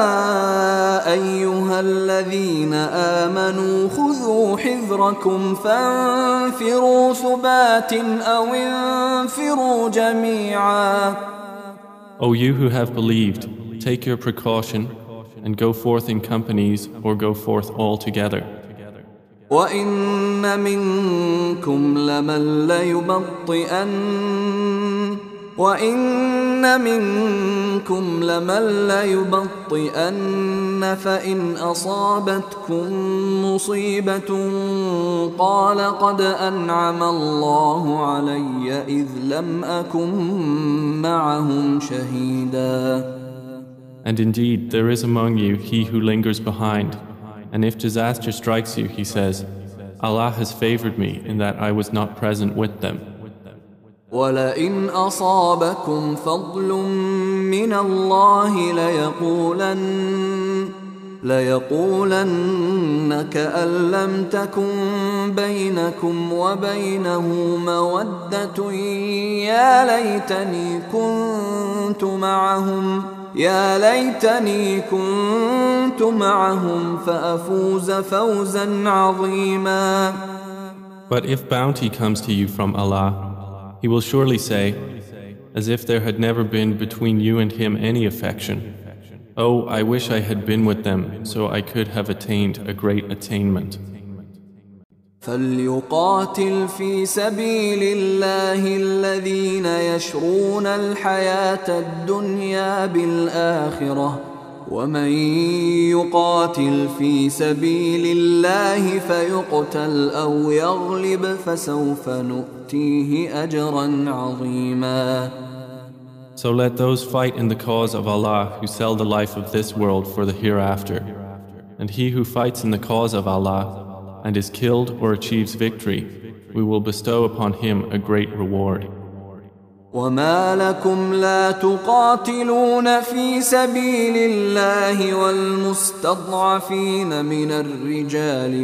أيها الذين آمنوا خذوا حذركم فانفروا ثبات أو انفروا جميعا.
O you who have believed, take your precaution and go forth in companies or go forth all together.
وإن منكم لمن ليبطئن فإن أصابتكم مصيبة قال قد أنعم الله علي إذ لم أكن معهم شهيدا.
And indeed, there is among you he who lingers behind, and if disaster strikes you, he says, Allah has favored me in that I was not present with them.
وَلَئِنْ أَصَابَكُمْ فَضْلٌ مِّنَ اللَّهِ لَيَقُولَنَّ كَأَن لَّمْ تَكُن بَيْنَكُمْ وَبَيْنَهُ مَوَدَّةٌ يا ليتني كنت معهم فأفوز فوزا عظيما.
But if bounty comes to you from Allah, He will surely say, as if there had never been between you and Him any affection, Oh, I wish I had been with them so I could have attained a great attainment.
فليقاتل في سبيل الله الذين يشرون الحياة الدنيا بالآخرة ومن يقاتل في سبيل الله فيقتل أو يغلب فسوف نؤتيه أجرا عظيما.
So let those fight in the cause of Allah who sell the life of this world for the hereafter, and he who fights in the cause of Allah and is killed or achieves victory, we will bestow upon him a great reward.
وما لكم لا تقاتلون في سبيل الله والمستضعفين من الرجال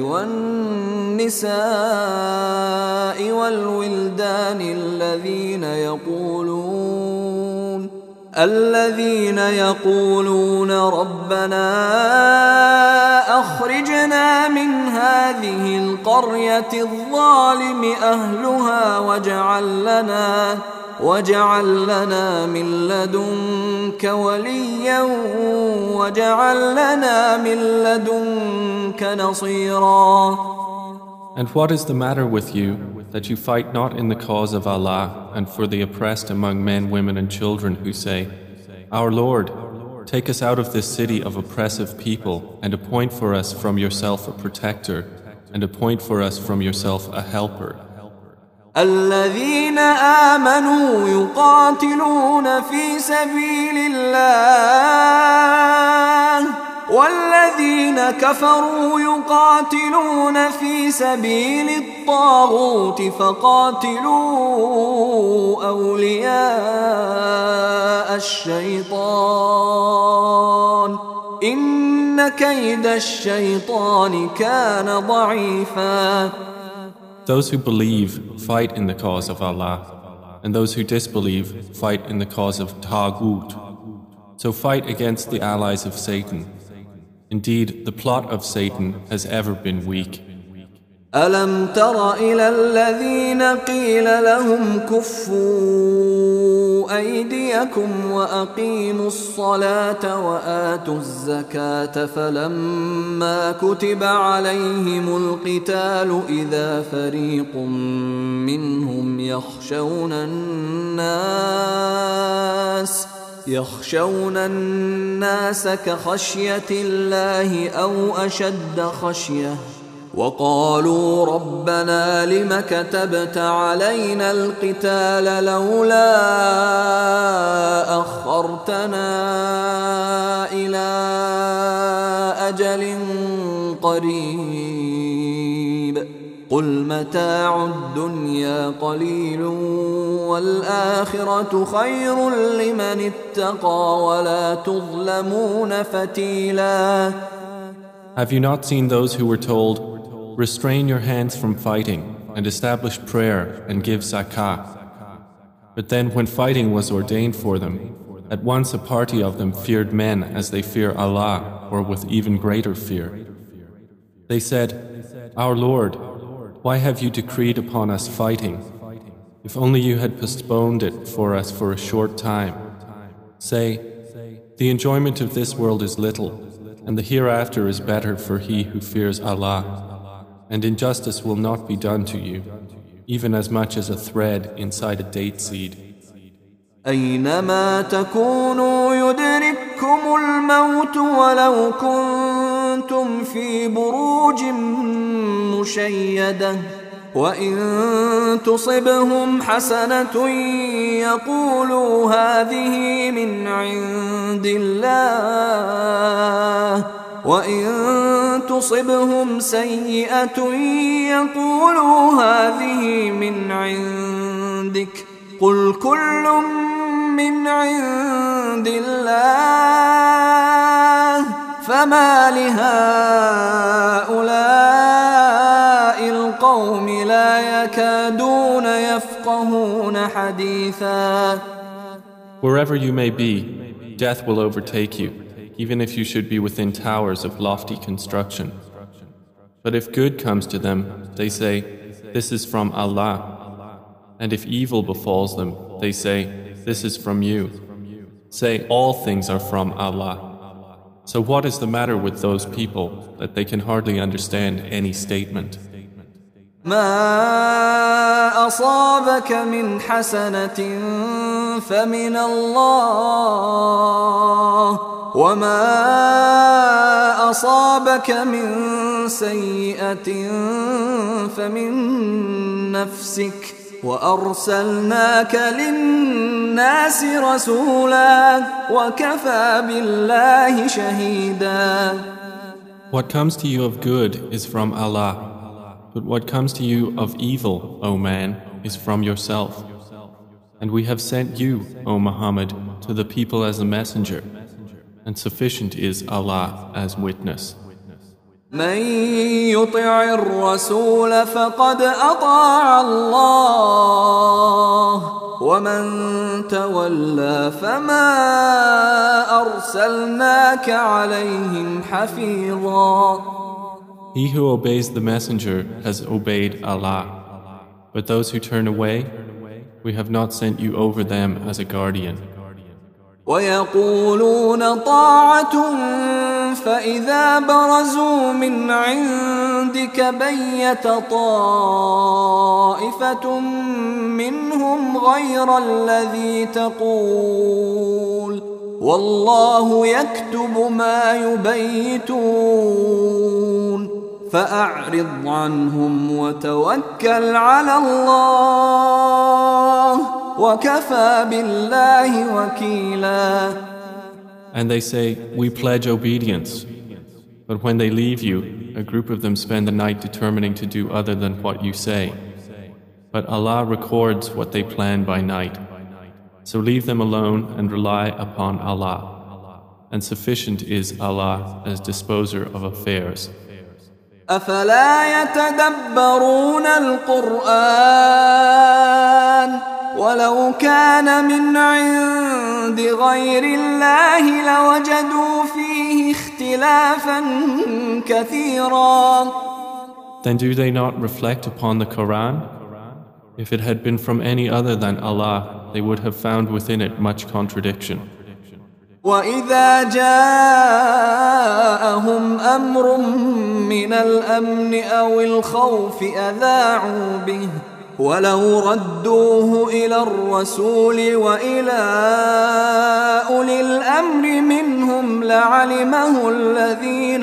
والنساء والولدان الذين يقولون ربنا أخرجنا من هذه القرية الظالم أهلها واجعل لنا من لدنك وليا واجعل لنا من لدنك نصيرا.
And what is the matter with you that you fight not in the cause of Allah and for the oppressed among men, women and children who say, Our Lord, take us out of this city of oppressive people and appoint for us from yourself a protector and appoint for us from yourself a helper.
الذين آمنوا يقاتلون في سبيل الله والذين كفروا يقاتلون في سبيل الطاغوت فقاتلوا أولياء الشيطان إن كيد الشيطان كان ضعيفا.
Those who believe fight in the cause of Allah, and those who disbelieve fight in the cause of Taghut. So fight against the allies of Satan. Indeed, the plot of Satan has ever been weak.
ألم تر إلى الذين قيل لهم كفوا أيديكم وأقيموا الصلاة وآتوا الزكاة فلما كتب عليهم القتال إذا فريق منهم يخشون الناس كخشية الله أو أشد خشية وقالوا ربنا لم كتبت علينا القتال لولا أخرتنا إلى أجل قريب قل متاع الدنيا قليل والآخرة خير لمن اتقى ولا تظلمون فتيلا.
Have you not seen those who were told, restrain your hands from fighting and establish prayer and give zakah? But then when fighting was ordained for them, at once a party of them feared men as they fear Allah, or with even greater fear. They said, Our Lord, why have you decreed upon us fighting? If only you had postponed it for us for a short time. Say, the enjoyment of this world is little, and the hereafter is better for he who fears Allah, and injustice will not be done to you, even as much as a thread inside a date seed.
أينما تكونوا يدرككم الموت ولو كنتم في بروج مشيدة وإن تصبهم حسنة يقولوا هذه من عند الله وإن تصبهم سيئة يقولوا هذه من عندك قل كل من عند الله فما لهؤلاء القوم لا يكادون يفقهون حديثا.
Wherever you may be, death will overtake you, even if you should be within towers of lofty construction. But if good comes to them, they say, this is from Allah. And if evil befalls them, they say, this is from you. Say, all things are from Allah. So what is the matter with those people that they can hardly understand any statement?
ما أصابك من حسنة فمن الله وما أصابك من سيئة فمن نفسك وأرسلناك للناس رسولا وكفى بالله شهيدا.
What comes to you of good is from Allah, but what comes to you of evil, O man, is from yourself. And we have sent you, O Muhammad, to the people as a messenger, and sufficient is Allah as witness.
من يطع الرسول فقد أطاع الله ومن تولى فما أرسلناك عليهم حفيظا.
He who obeys the messenger has obeyed Allah, but those who turn away, we have not sent you over them as a guardian.
ويقولون طاعة فإذا برزوا من عندك بيت طائفة منهم غير الذي تقول والله يكتب ما يبيتون فأعرض عنهم وتوكل على الله وكفى بالله وكيلا.
And they say, we pledge obedience. But when they leave you, a group of them spend the night determining to do other than what you say. But Allah records what they plan by night. So leave them alone and rely upon Allah. And sufficient is Allah as disposer of affairs.
أفلا يتدبرون القرآن ولو كان من عند غير الله لوجدوا فيه اختلافا كثيرا.
Then do they not reflect upon the Quran? If it had been from any other than Allah, they would have found within it much contradiction.
وإذا جاءهم أمر من الأمن أو الخوف أذاعوا به ولو ردوه إلى الرسول وإلى أولي الأمر منهم لعلمه الذين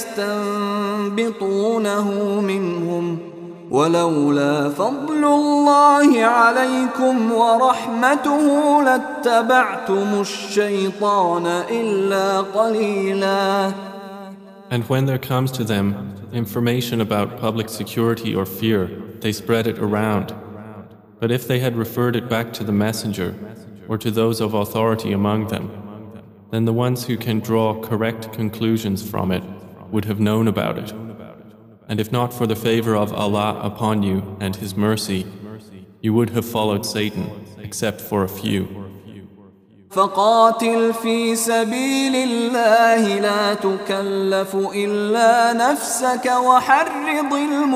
يستنبطونه منهم ولولا فضل الله عليكم ورحمته لاتبعتم الشيطان إلا قليلا.
And when there comes to them information about public security or fear, they spread it around. But if they had referred it back to the messenger or to those of authority among them, then the ones who can draw correct conclusions from it would have known about it. And if not for the favor of Allah upon you and His mercy, you would have followed Satan, except for a few.
فقاتل في سبيل الله لا تكلف إلا نفسك وحرض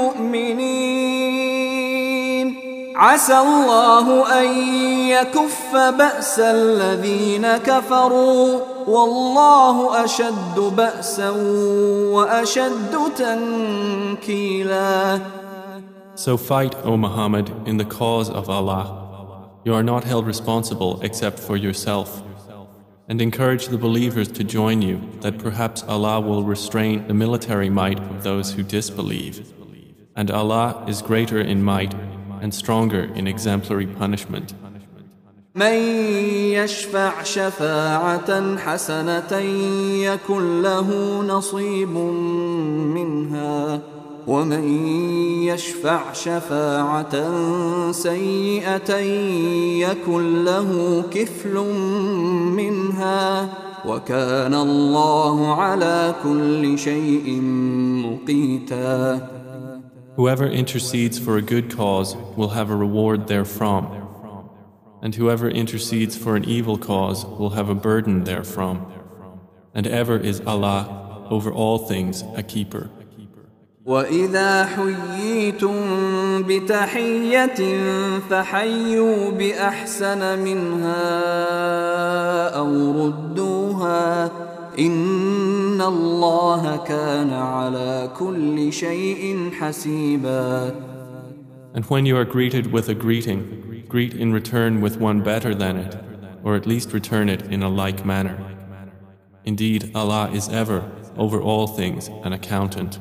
المؤمنين عسى الله أن يكف بأس الذين كفروا والله أشد بأسا وأشد تنكيلا.
So fight, O Muhammad, in the cause of Allah. You are not held responsible except for yourself. And encourage the believers to join you, that perhaps Allah will restrain the military might of those who disbelieve. And Allah is greater in might and stronger in exemplary punishment.
من يشفع شفاعة حسنة يكن له نصيب منها ومن يشفع شفاعة سيئة يكن له كفل منها وكان الله على كل شيء مقيتا.
Whoever intercedes for a good cause will have a reward therefrom, and whoever intercedes for an evil cause will have a burden therefrom. And ever is Allah over all things a keeper.
وَإِذَا حُيِّيتُم بِتَحِيَّةٍ فَحَيُّوا بِأَحْسَنَ مِنْهَا أَوْ رُدُّوهَا إِنَّ اللَّهَ كَانَ عَلَى كُلِّ شَيْءٍ حَسِيبًا.
And when you are greeted with a greeting, greet in return with one better than it, or at least return it in a like manner. Indeed, Allah is ever, over all things, an accountant.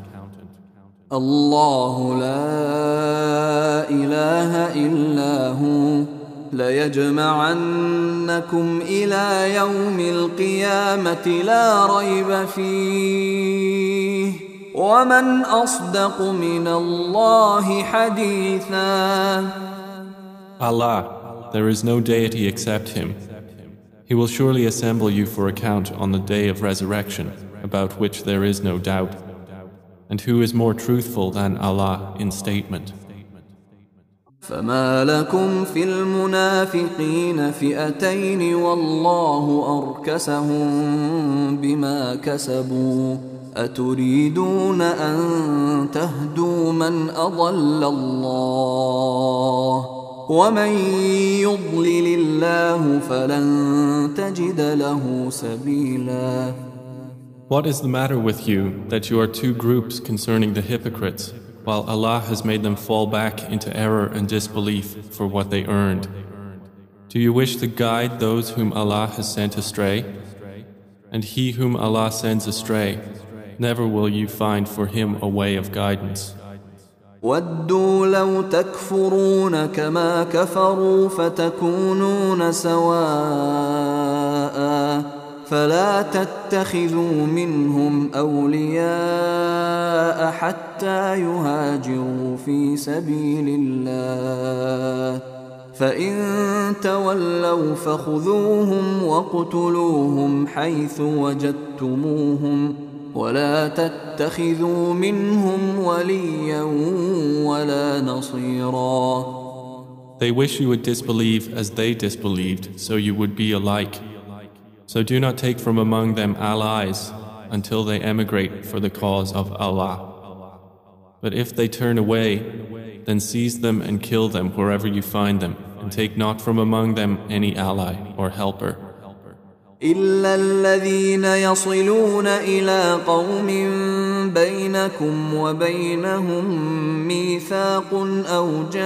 الله لا إله إلا هو ليجمعنكم إلى يوم القيامة لا ريب فيه ومن أصدق من الله حديثا.
Allah, there is no deity except Him. He will surely assemble you for account on the day of resurrection, about which there is no doubt. And who is more truthful than Allah in statement?
فما لكم في المنافقين فئتين والله أركسهم بما كسبوا أتريدون أن تهدوا من أضل الله ومن يضلل الله فلن تجد له سبيلا.
What is the matter with you that you are two groups concerning the hypocrites, while Allah has made them fall back into error and disbelief for what they earned? Do you wish to guide those whom Allah has sent astray? And he whom Allah sends astray, never will you find for him a way of guidance.
وَدُّوا لَوْ تَكْفُرُونَ كَمَا كَفَرُوا فَتَكُونُونَ سَوَاءً فلا تتخذوا منهم أولياء حتى يهاجروا في سبيل الله فإن تولوا فخذوهم وَاقْتُلُوهُمْ حيث وجدتموهم ولا تتخذوا منهم وليا ولا نصيرا.
They wish you would disbelieve as they disbelieved, so you would be alike. So do not take from among them allies until they emigrate for the cause of Allah. But if they turn away, then seize them and kill them wherever you find them, and take not from among them any ally or helper.
إلا الذين يصلون إلى قوم بينكم وبينهم ميثاق أو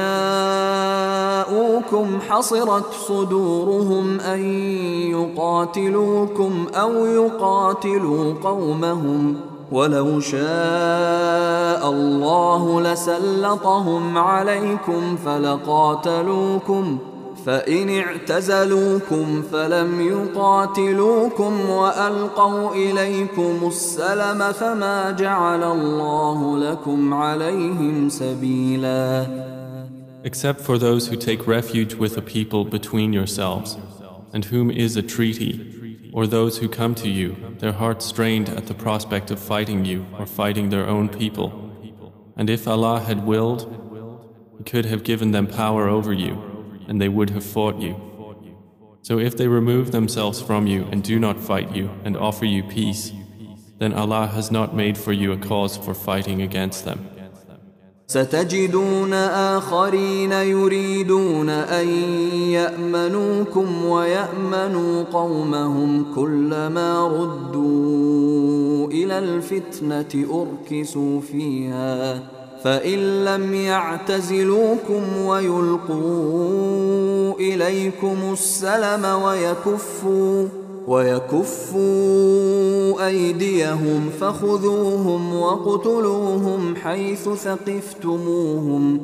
جاءوكم حصرت صدورهم أن يقاتلوكم أو يقاتلوا قومهم ولو شاء الله لسلطهم عليكم فلقاتلوكم فإن اعتزلوكم فلم يقاتلوكم وألقوا إليكم السلم فما جعل الله لكم عليهم سبيلا.
Except for those who take refuge with a people between yourselves, and whom is a treaty, or those who come to you, their hearts strained at the prospect of fighting you or fighting their own people. And if Allah had willed, He could have given them power over you, and they would have fought you. So if they remove themselves from you and do not fight you and offer you peace, then Allah has not made for you a cause for fighting against them.
ستجدون آخرين يريدون أن يأمنوكم ويأمنوا قومهم كلما ردوا إلى الفتنة أركسوا فيها فإن لم يعتزلوكم ويلقوا إليكم السلم ويكفوا أيديهم فخذوهم وقتلوهم حيث ثقفتموهم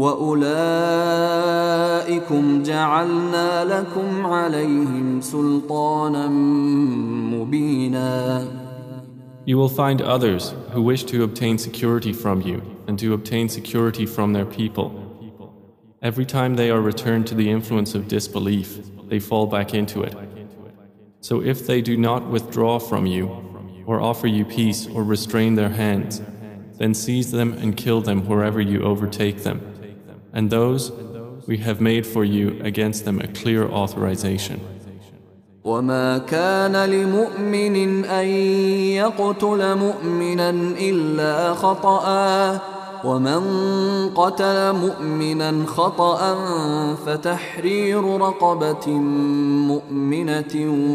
وأولئكم جعلنا لكم عليهم سلطانا مبينا.
You will find others who wish to obtain security from you and to obtain security from their people. Every time they are returned to the influence of disbelief, they fall back into it. So if they do not withdraw from you, or offer you peace or restrain their hands, then seize them and kill them wherever you overtake them. And those we have made for you against them a clear authorization.
وما كان لمؤمن أن يقتل مؤمنا إلا خطأ ومن قتل مؤمنا خطأ فتحرير رقبة مؤمنة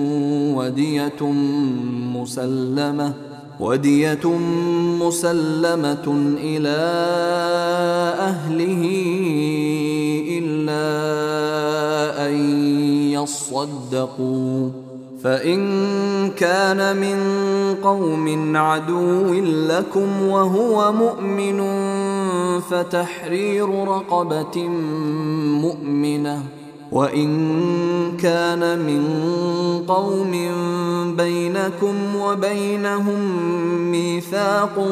ودية مسلمة إلى أهله إلا أن يصدقوا فإن كان من قوم عدو لكم وهو مؤمن فتحرير رقبة مؤمنة وإن كان من قوم بينكم وبينهم ميثاق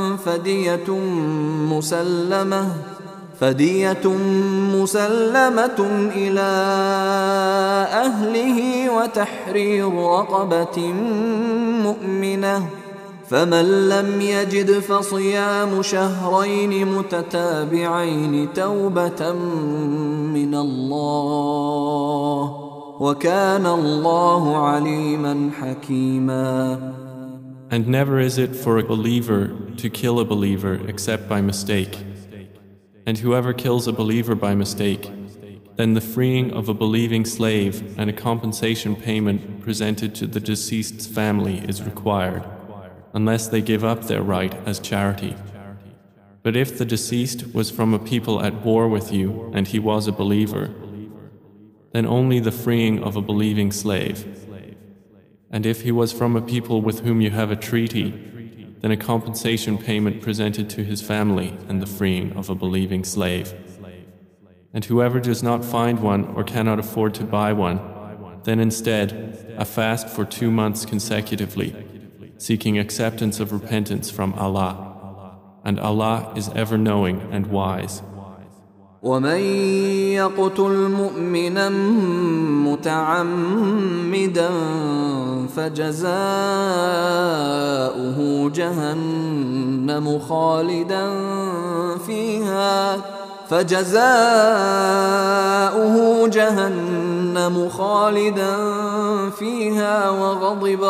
فدية مسلمة إلى أهله وتحرير رقبة مؤمنة فمن لم يجد فصيام شهرين متتابعين توبة من الله وكان الله عليما حكيما.
And never is it for a believer to kill a believer except by mistake. And whoever kills a believer by mistake, then the freeing of a believing slave and a compensation payment presented to the deceased's family is required, unless they give up their right as charity. But if the deceased was from a people at war with you and he was a believer, then only the freeing of a believing slave. And if he was from a people with whom you have a treaty, then a compensation payment presented to his family and the freeing of a believing slave. And whoever does not find one or cannot afford to buy one, then instead a fast for 2 months consecutively, seeking acceptance of repentance from Allah. And Allah is ever knowing and wise.
ومن يقتل مؤمنا متعمدا فجزاؤه جهنم خالدا فيها وغضب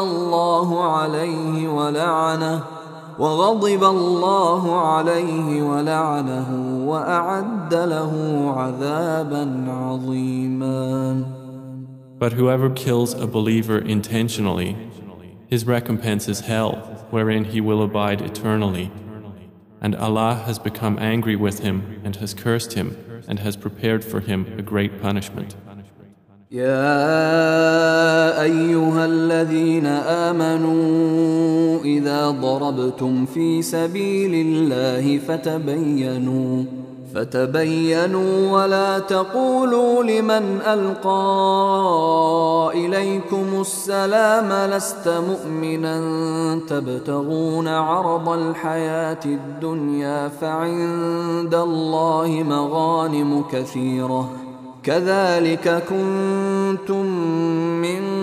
الله عليه ولعنه وأعد له عذابا عظيما.
But whoever kills a believer intentionally, his recompense is hell, wherein he will abide eternally. And Allah has become angry with him and has cursed him and has prepared for him a great punishment.
يا أيها الذين آمنوا إذا ضربتم في سبيل الله فتبينوا ولا تقولوا لمن ألقى إليكم السلام لست مؤمنا تبتغون عرض الحياة الدنيا فعند الله مغانم كثيرة كذلك كنتم من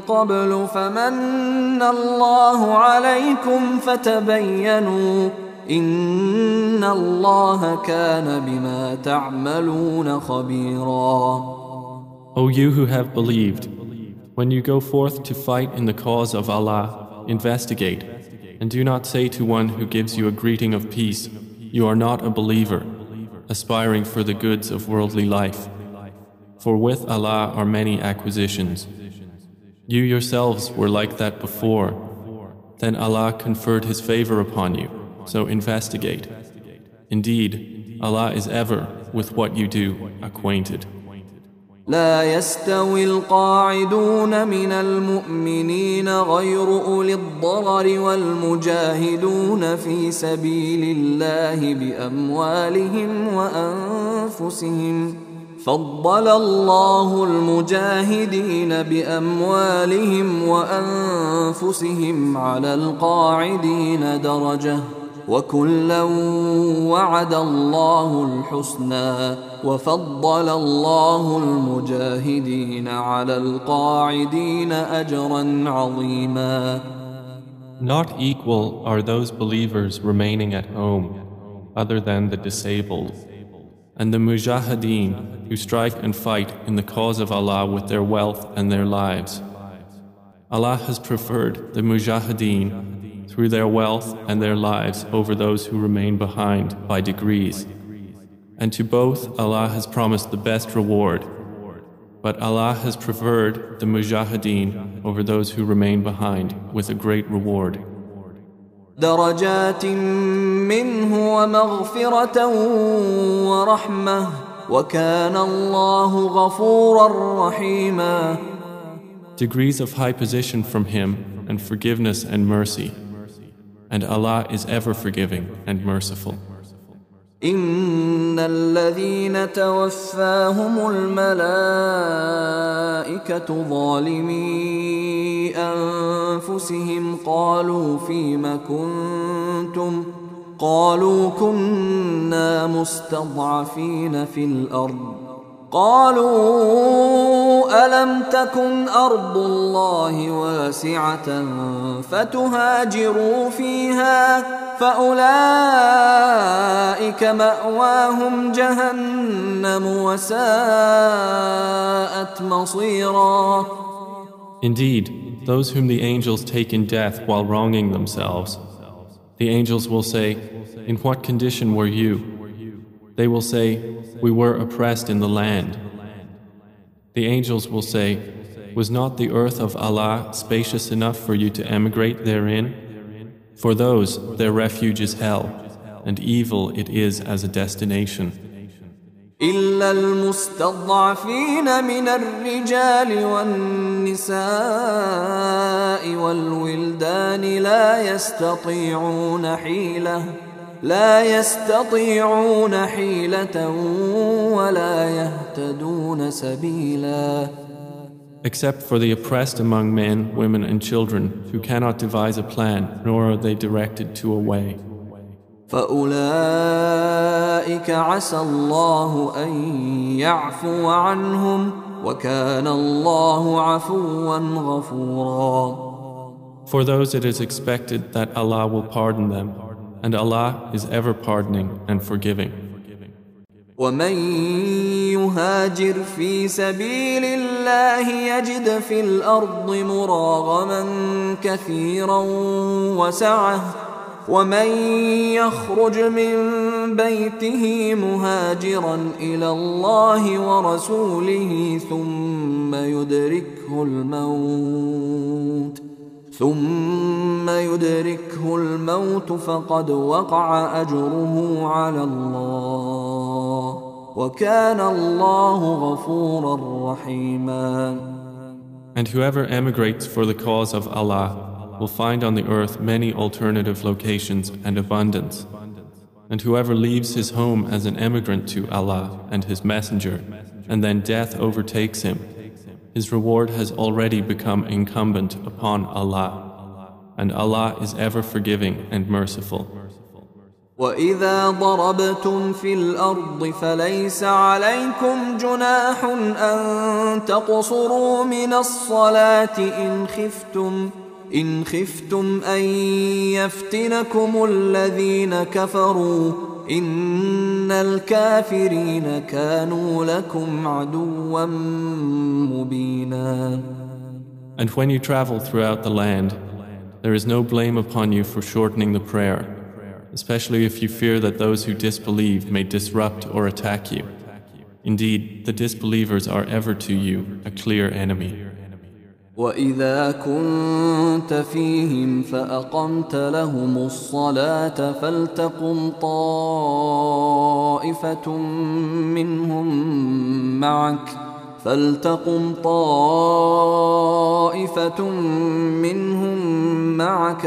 قبل فمن الله عليكم فتبينوا إن الله كان بما تعملون خبيرا.
O you who have believed, when you go forth to fight in the cause of Allah, investigate, and do not say to one who gives you a greeting of peace, you are not a believer, aspiring for the goods of worldly life. For with Allah are many acquisitions. You yourselves were like that before. Then Allah conferred His favor upon you, so investigate. Indeed, Allah is ever with what you do acquainted.
لا يستوي القاعدون من المؤمنين غير أولي الضرر والمجاهدون في سبيل الله بأموالهم وأنفسهم فضل الله المجاهدين بأموالهم وأنفسهم على القاعدين درجة وكلا وعد الله الحسنى وفضل الله المجاهدين على القاعدين أجرا عظيما.
Not equal are those believers remaining at home other than the disabled, and the mujahideen who strike and fight in the cause of Allah with their wealth and their lives. Allah has preferred the mujahideen through their wealth and their lives over those who remain behind by degrees. And to both Allah has promised the best reward. But Allah has preferred the mujahideen over those who remain behind with a great reward.
درجات منه ومغفرة ورحمة وكان الله غفورا رحيما.
Degrees of high position from Him and forgiveness and mercy. And Allah is ever forgiving and merciful.
إن الذين توفاهم الملائكة ظالمي أنفسهم قالوا فيم كنتم قالوا كنا مستضعفين في الأرض قالوا ألم تكن أرض الله واسعة فتهاجروا فيها فأولئك مأواهم جهنم وساءت مصيرا.
Indeed, those whom the angels take in death while wronging themselves, the angels will say, "In what condition were you?" They will say, "We were oppressed in the land." The angels will say, "Was not the earth of Allah spacious enough for you to emigrate therein? For those, their refuge is hell, and evil it is as a destination.
إلا المستضعفين من الرجال والنساء والولدان لا يستطيعون حيلة ولا يهتدون سبيلا.
Except for the oppressed among men, women and children who cannot devise a plan, nor are they directed to a way.
فأولئك عسى الله أن يعفو عنهم وكان الله عفوا غفورا.
For those it is expected that Allah will pardon them, and Allah is ever pardoning and forgiving.
ومن يهاجر في سبيل الله يجد في الأرض مراغما كثيرا وسعة ومن يخرج من بيته مهاجرا إلى الله ورسوله ثم يدركه الموت فقد وقع أجره على الله وكان الله غفورا رحيما.
And whoever emigrates for the cause of Allah will find on the earth many alternative locations and abundance. And whoever leaves his home as an emigrant to Allah and His Messenger, and then death overtakes him, his reward has already become incumbent upon Allah, and Allah is ever forgiving and merciful.
وإذا ضربتم في الأرض فليس عليكم جناح أن تقصروا من الصلاة إن خفتم أن يفتنكم الذين كفروا إن الكافرين كانوا لكم عدوا مبينا.
And when you travel throughout the land, there is no blame upon you for shortening the prayer, especially if you fear that those who disbelieve may disrupt or attack you. Indeed, the disbelievers are ever to you a clear enemy.
وَإِذَا كُنْتَ فِيهِمْ فَأَقَمْتَ لَهُمُ الصَّلَاةَ فَلْتَقُمْ طَائِفَةٌ منهم معك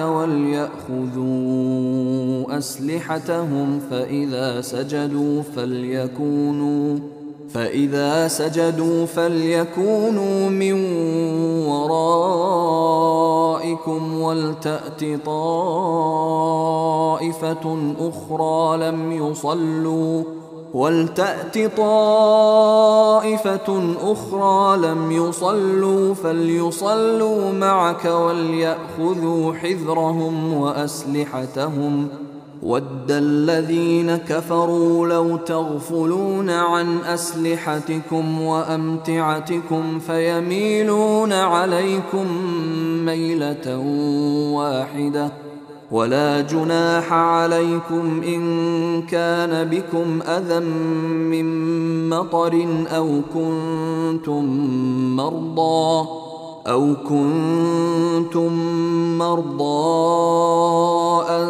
وليأخذوا أسلحتهم فإذا سجدوا فليكونوا من ورائكم ولتأت طائفة أخرى لم يصلوا فليصلوا معك وليأخذوا حذرهم وأسلحتهم وَدَّ الَّذِينَ كَفَرُوا لَوْ تَغْفُلُونَ عَنْ أَسْلِحَتِكُمْ وَأَمْتِعَتِكُمْ فَيَمِيلُونَ عَلَيْكُمْ مَيْلَةً وَاحِدَةً وَلَا جُنَاحَ عَلَيْكُمْ إِن كَانَ بِكُمْ أَذًى مِّن مَّطَرٍ أَوْ كُنتُم مَّرْضَىٰ أَن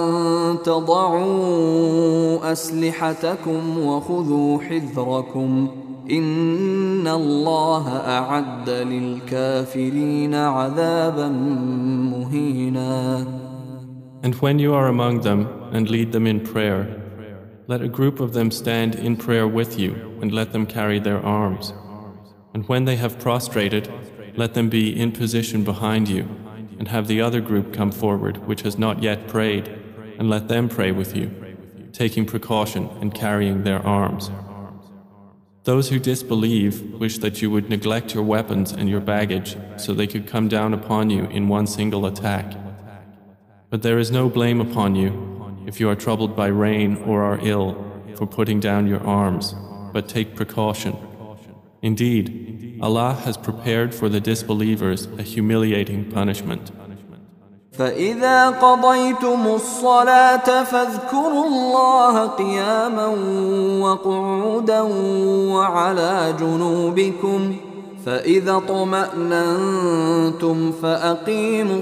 تَضَعُوا أَسْلِحَتَكُمْ وَخُذُوا حِذْرَكُمْ إِنَّ اللَّهَ أَعَدَّ لِلْكَافِرِينَ عَذَابًا مُهِينًا.
And when you are among them and lead them in prayer, let a group of them stand in prayer with you and let them carry their arms. And when they have prostrated, let them be in position behind you, and have the other group come forward which has not yet prayed, and let them pray with you, taking precaution and carrying their arms. Those who disbelieve wish that you would neglect your weapons and your baggage so they could come down upon you in one single attack. But there is no blame upon you if you are troubled by rain or are ill for putting down your arms, but take precaution. Indeed, Allah has prepared for the disbelievers a humiliating punishment.
فَإِذَا قَضَيْتُمُ الصَّلَاةَ فَاذْكُرُوا اللَّهَ قِيَامًا وَقُعُودًا وَعَلَى جُنُوبِكُمْ فَإِذَا اطْمَأْنَنْتُمْ فَأَقِيمُوا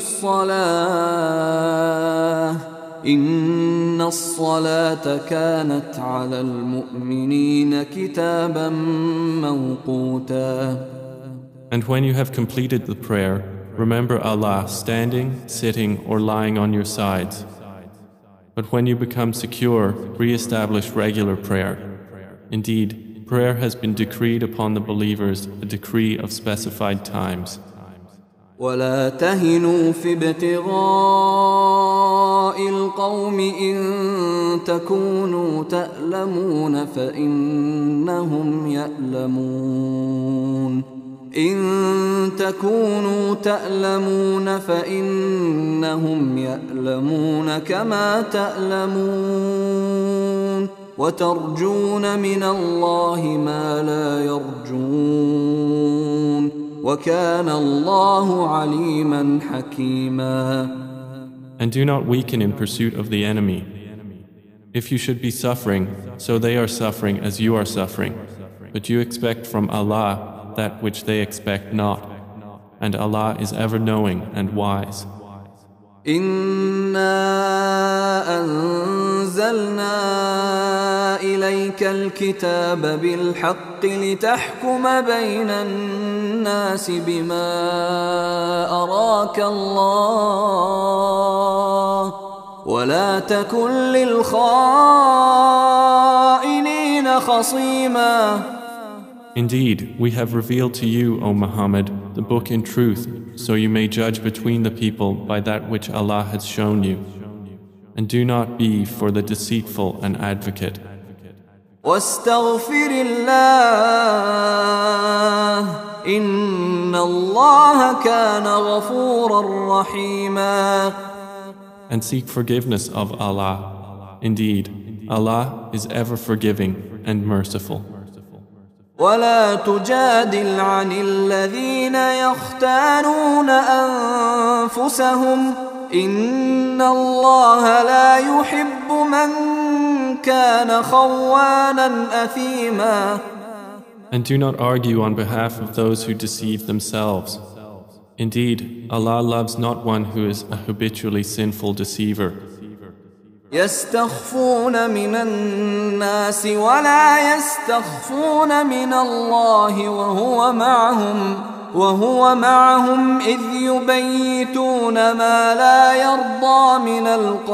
الصَّلَاةَ إِنَّ الصَّلَاةَ كَانَتْ عَلَى الْمُؤْمِنِينَ كِتَابًا مَوْقُوتًا.
And when you have completed the prayer, remember Allah standing, sitting, or lying on your sides. But when you become secure, re-establish regular prayer. Indeed, prayer has been decreed upon the believers, a decree of specified times.
وَلَا تَهِنُوا فِي ابْتِغَاءِ الْقَوْمِ إِن تَكُونُوا تَأْلَمُونَ فَإِنَّهُمْ يَأْلَمُونَ كَمَا تَأْلَمُونَ وَتَرْجُونَ مِنَ اللَّهِ مَا لَا يَرْجُونَ وَكَانَ اللَّهُ عَلِيمًا حَكِيمًا.
And do not weaken in pursuit of the enemy. If you should be suffering, so they are suffering as you are suffering. But you expect from Allah that which they expect not. And Allah is ever knowing and wise.
إِنَّا أَنزَلْنَا إِلَيْكَ الْكِتَابَ بِالْحَقِّ لِتَحْكُمَ بَيْنَ النَّاسِ بِمَا أَرَاكَ اللَّهُ وَلَا تَكُنْ لِلْخَائِنِينَ خَصِيمًا.
Indeed, we have revealed to you, O Muhammad, the book in truth, so you may judge between the people by that which Allah has shown you. And do not be for the deceitful an advocate.
واستغفر الله إن الله كان غفورا رحيما.
And seek forgiveness of Allah. Indeed, Allah is ever forgiving and merciful.
ولا تجادل عن الذين يختانون أنفسهم إن الله لا يحب من كان خوانا أثيما.
And do not argue on behalf of those who deceive themselves. Indeed, Allah loves not one who is a habitually sinful deceiver.
يستخفون من الناس ولا يستخفون من الله وهو معهم إذ يبيتون ما لا يرضى من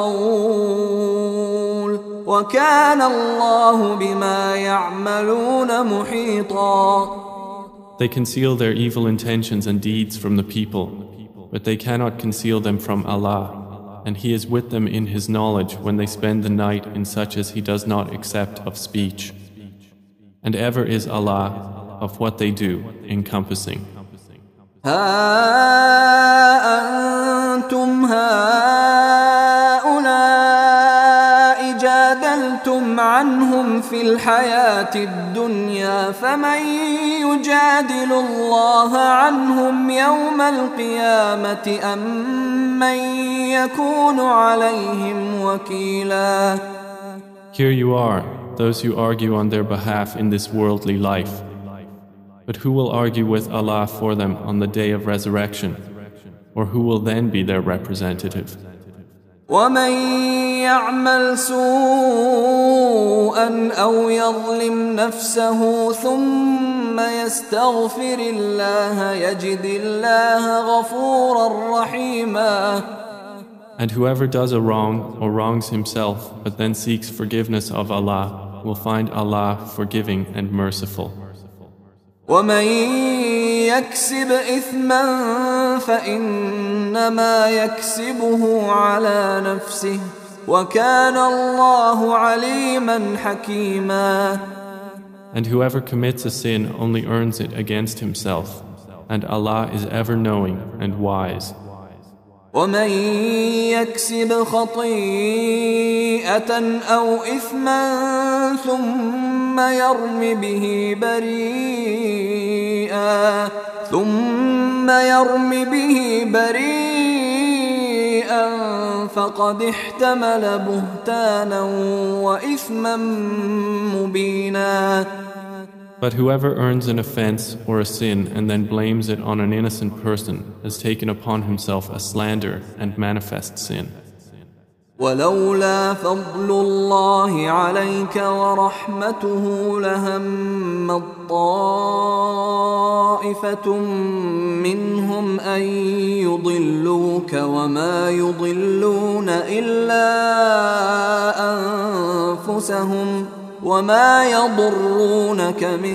القول وكان الله بما يعملون محيطا.
They conceal their evil intentions and deeds from the people, but they cannot conceal them from Allah. And He is with them in His knowledge when they spend the night in such as He does not accept of speech. And ever is Allah of what they do encompassing.
ها أنتم هؤلاء جادلتم عنهم في الحياة الدنيا فمن يجادل الله عنهم يوم القيامة أم من يكون عليهم وكيلا.
Here you are, those who argue on their behalf in this worldly life. But who will argue with Allah for them on the day of resurrection? Or who will then be their representative?
ومن يعمل سوءا أو يظلم نفسه ثم يستغفر الله يجد الله غفورا رحيما.
And whoever does a wrong or wrongs himself but then seeks forgiveness of Allah will find Allah forgiving and merciful.
ومن يكسب إثما فإنما يكسبه على نفسه وكان الله عليما حكيما.
And whoever commits a sin only earns it against himself, and Allah is ever knowing and wise.
ومن يكسب خطيئة أو إثما ثم يرم به بريئا فقد احتمل بهتانا وإثما مبينا.
But whoever earns an offense or a sin and then blames it on an innocent person has taken upon himself a slander and manifest sin.
ولولا فضل الله عليك ورحمته لهم طائفة منهم أن يضلوك وما يضلون إلا أنفسهم وما يضرونك من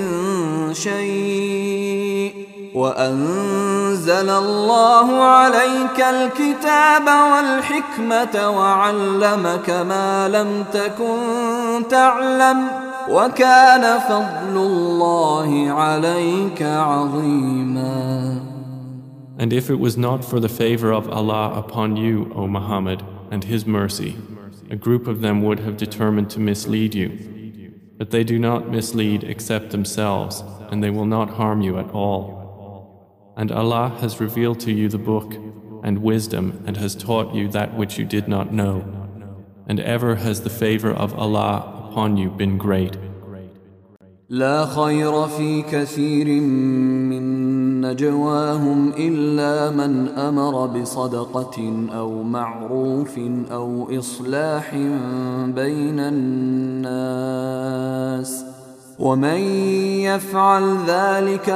شيء وأنزل الله عليك الكتاب والحكمة وعلمك ما لم تكن تعلم وكان فضل الله عليك عظيما.
And if it was not for the favor of Allah upon you, O Muhammad, and His mercy, a group of them would have determined to mislead you. But they do not mislead except themselves, and they will not harm you at all. And Allah has revealed to you the book and wisdom and has taught you that which you did not know. And ever has the favor of Allah upon you been great.
لا خير في كثير من نجواهم إلا من أمر بصدقة أو معروف أو إصلاح بين الناس ومن يفعل ذلك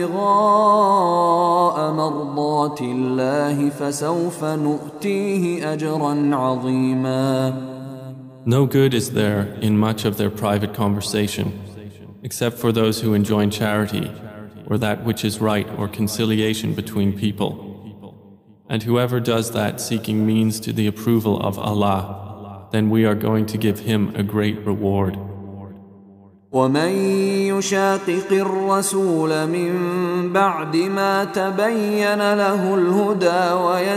ابتغاء مرضات الله فسوف نؤتيه أجرا عظيما.
No good is there in much of their private conversation, except for those who enjoin charity, or that which is right or conciliation between people. And whoever does that seeking means to the approval of Allah, then we are going to give him a great reward.
ومن يشاقق الرسول من بعد ما تبين له الهدى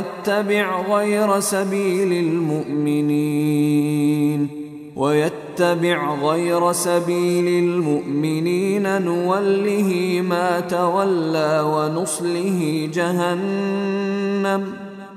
ويتبع غير سبيل المؤمنين نوله ما تولى ونصله جهنم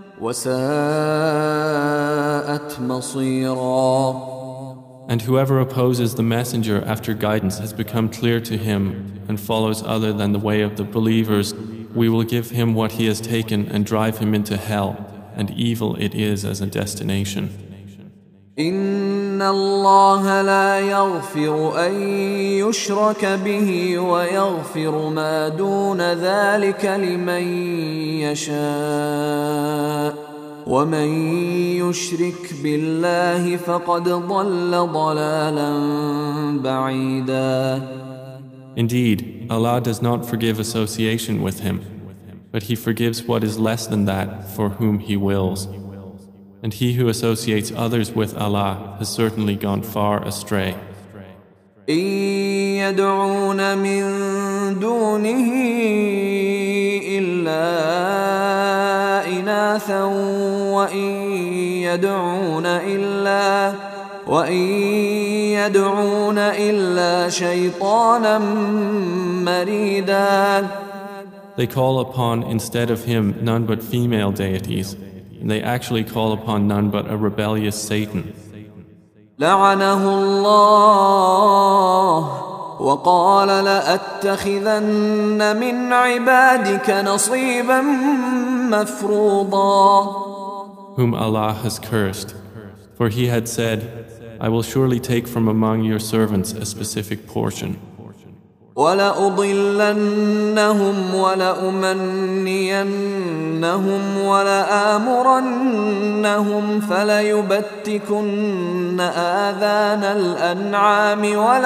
وساءت مصيرا.
And whoever opposes the messenger after guidance has become clear to him and follows other than the way of the believers, we will give him what he has taken and drive him into hell, and evil it is as a destination.
إن الله لا يغفر أن يشرك به ويغفر ما دون ذلك لمن يشاء ومن يشرك بالله فقد ضل ضلالا بعيدا.
Indeed, Allah does not forgive association with him, but He forgives what is less than that for whom He wills. And he who associates others with Allah has certainly gone far astray.
إن يدعون من دونه إلا إناثا وإن يدعون إلا شيطانا مريدا.
They call upon instead of him none but female deities, and they actually call upon none but a rebellious Satan.
لعنه الله وقال لأتخذن من عبادك نصيبا مفروضا.
Whom Allah has cursed, for he had said, I will surely take from among your servants a specific portion.
وَلَأُضِلَّنَّهُمْ وَلَأُمَنِّيَنَّهُمْ وَلَآمُرَنَّهُمْ فَلَيُبَتِّكُنَّ آذَانَ الْأَنْعَامِ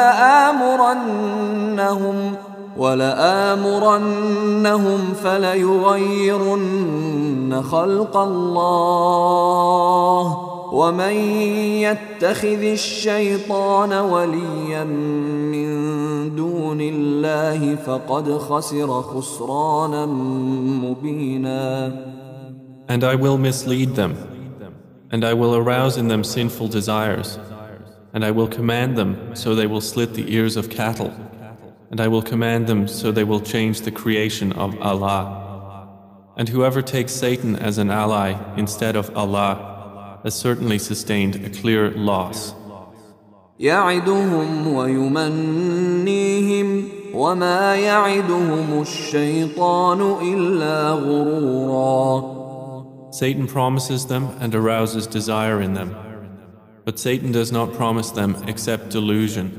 وَلَآمُرَنَّهُمْ فَلَيُغَيِّرُنَّ خَلْقَ اللَّهِ وَمَن يَتَّخِذِ الشَّيْطَانَ وَلِيًّا مِّن دُونِ اللَّهِ فَقَدْ خَسِرَ خُسْرَانًا مُّبِينًا.
And I will mislead them, and I will arouse in them sinful desires, and I will command them so they will slit the ears of cattle, and I will command them so they will change the creation of Allah. And whoever takes Satan as an ally instead of Allah has certainly sustained a clear loss.
يعدهم ويمنيهم وما يعدهم الشيطان إلا غرورا.
Satan promises them and arouses desire in them, but Satan does not promise them except delusion.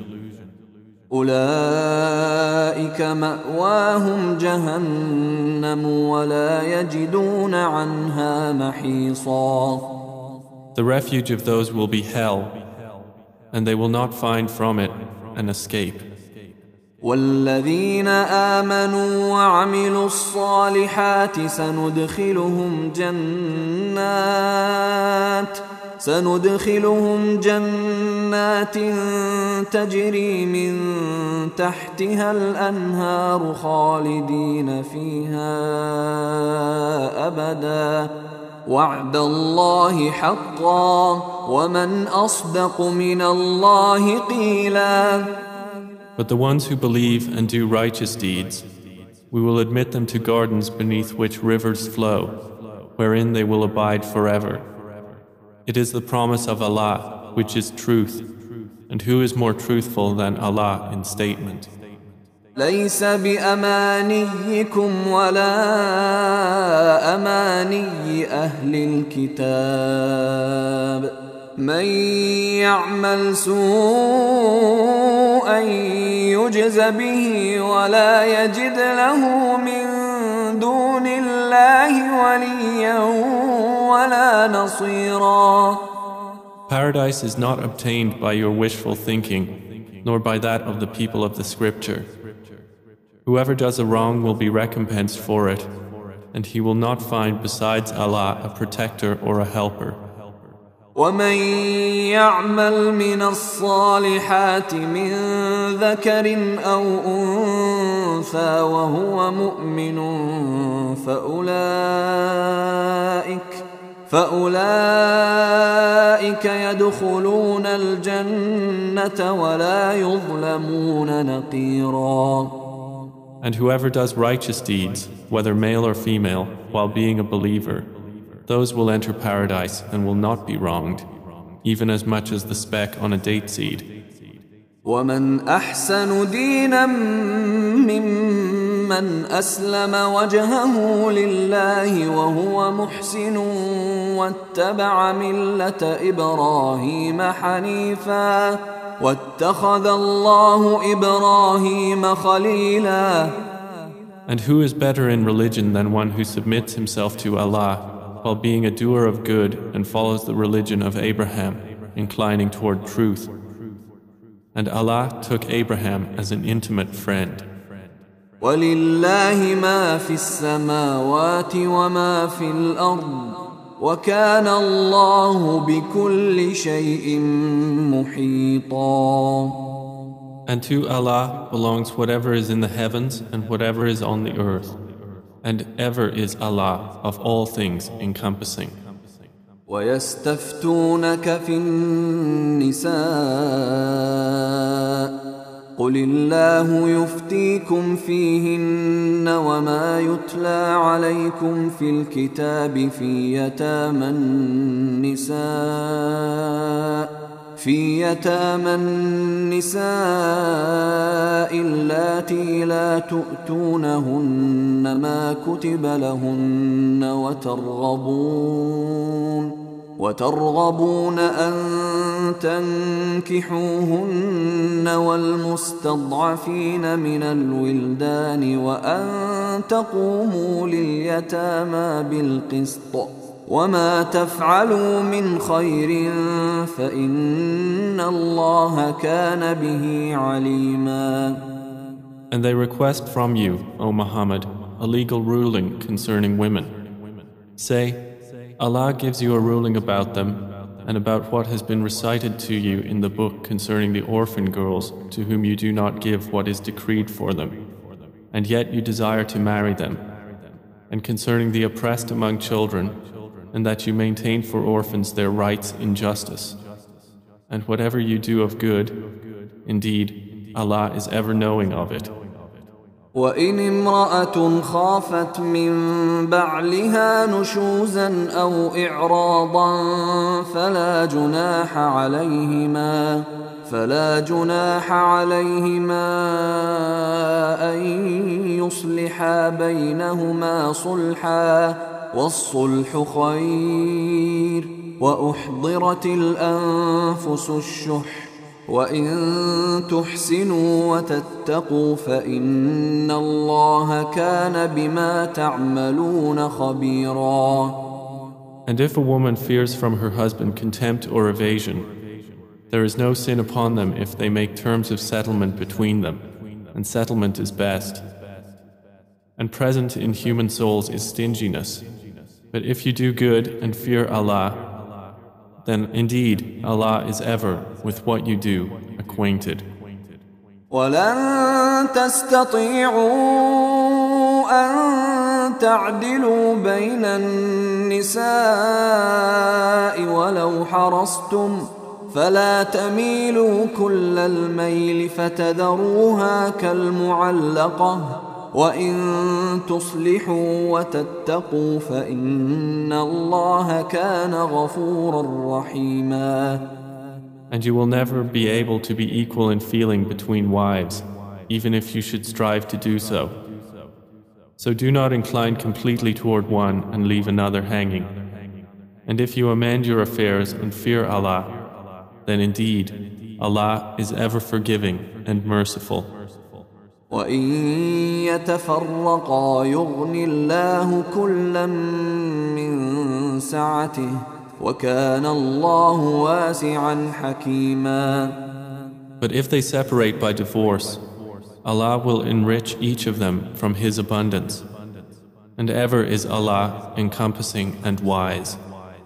أولئك مأواهم جهنم ولا يجدون عنها محيصا.
The refuge of those will be hell, and they will not find from it an escape.
والذين آمنوا وعملوا الصالحات سندخلهم جنات تجري من تحتها الأنهار خالدين فيها أبدا وعد الله حقا ومن أصدق من الله قيلا.
But the ones who believe and do righteous deeds, we will admit them to gardens beneath which rivers flow, wherein they will abide forever. It is the promise of Allah, which is truth, and who is more truthful than Allah in statement?
ليس بأمانيكم ولا أماني أهل الكتاب من يعمل سوءا يجز به ولا يجد له من دون الله وليا ولا نصيرا.
Paradise is not obtained by your wishful thinking, nor by that of the people of the scripture. Whoever does a wrong will be recompensed for it, and he will not find besides Allah a protector or a helper.
ومن يعمل من الصالحات من ذكر أو أنثى وهو مؤمن فأولئك يدخلون الجنة ولا يظلمون نقيرا.
And whoever does righteous deeds, whether male or female, while being a believer, those will enter paradise and will not be wronged, even as much as the speck on a date seed.
ومن أحسن دينا ممن أسلم وجهه لله وهو محسن واتبع ملة إبراهيم حنيفا واتخذ الله إبراهيم خليلا.
And who is better in religion than one who submits himself to Allah while being a doer of good and follows the religion of Abraham, inclining toward truth? And Allah took Abraham as an intimate friend.
وَلِلَّهِ مَا فِي السَّمَاوَاتِ وَمَا فِي الْأَرْضِ وَكَانَ اللَّهُ بِكُلِّ شَيْءٍ مُحِيطًا.
And to Allah belongs whatever is in the heavens and whatever is on the earth. And ever is Allah of all things encompassing.
وَيَسْتَفْتُونَكَ فِي النِّسَاءِ قُلِ اللَّهُ يُفْتِيكُمْ فِيهِنَّ وَمَا يُتْلَى عَلَيْكُمْ فِي الْكِتَابِ في يتامى النساء اللاتي لا تؤتونهن ما كتب لهن وترغبون أن تنكحوهن والمستضعفين من الولدان وأن تقوموا لليتامى بالقسط وما تفعلوا من خير فإن الله كان به عليما.
And they request from you, O Muhammad, a legal ruling concerning women. Say, Allah gives you a ruling about them and about what has been recited to you in the book concerning the orphan girls to whom you do not give what is decreed for them, and yet you desire to marry them, and concerning the oppressed among children, and that you maintain for orphans their rights in justice. And whatever you do of good, indeed, Allah is ever knowing of it.
وَإِنِ امْرَأَةٌ خَافَتْ مِنْ بَعْلِهَا نُشُوزًا أَوْ إِعْرَاضًا فلا جناح عليهما أن يصلحا بينهما صلحا والصلح خير وأحضرت الأنفس الشح وإن تحسنوا وتتقوا فإن الله كان بما تعملون خبيرا.
And if a woman fears from her husband contempt or evasion, there is no sin upon them if they make terms of settlement between them, and settlement is best. And present in human souls is stinginess. But if you do good and fear Allah, then indeed Allah is ever with what you do acquainted.
وَلَن تَسْتَطِيعُوا أَن تَعْدِلُوا بَيْنَ النِّسَاءِ وَلَوْ حَرَصْتُمْ فَلَا تَمِيلُوا كُلَّ الْمَيْلِ فَتَذَرُوهَا كَالْمُعَلَّقَةِ وَإِن تُصْلِحُوا وَتَتَّقُوا فَإِنَّ اللَّهَ كَانَ غَفُورًا رَحِيمًا.
And you will never be able to be equal in feeling between wives, even if you should strive to do so. So do not incline completely toward one and leave another hanging. And if you amend your affairs and fear Allah, then indeed Allah is ever forgiving and merciful.
وَإِن يَتَفَرَّقَا يُغْنِ اللَّهُ كُلًّا مِّن سَعَتِهِ وَكَانَ اللَّهُ وَاسِعًا حَكِيمًا.
But if they separate by divorce, Allah will enrich each of them from His abundance, and ever is Allah encompassing and wise.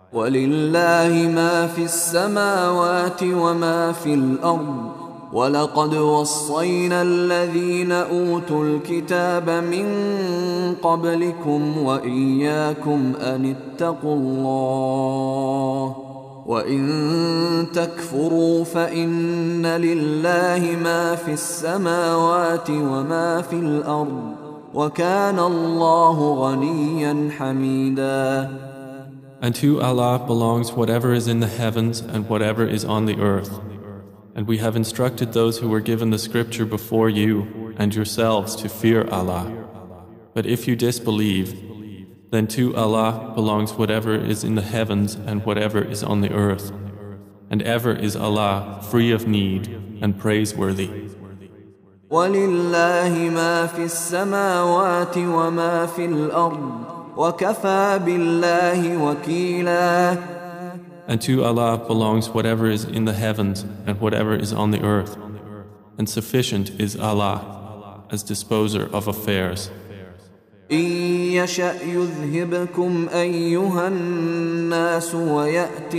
ولله ما في السماوات وما في الأرض ولقد وصينا الذين أوتوا الكتاب من قبلكم وإياكم أن اتقوا الله وإن تكفروا فإن لله ما في السماوات وما في الأرض وكان الله غنيا حميدا.
And to Allah belongs whatever is in the heavens and whatever is on the earth. And we have instructed those who were given the scripture before you and yourselves to fear Allah. But if you disbelieve, then to Allah belongs whatever is in the heavens and whatever is on the earth. And ever is Allah free of need and praiseworthy.
وَلِلَّهِ مَا فِي السَّمَاوَاتِ وَمَا فِي الْأَرْضِ وَكَفَى بِاللَّهِ وَكِيلًا.
And to Allah belongs whatever is in the heavens and whatever is on the earth. And sufficient is Allah as disposer of affairs.
إن يشأ يذهبكم أيها الناس ويأت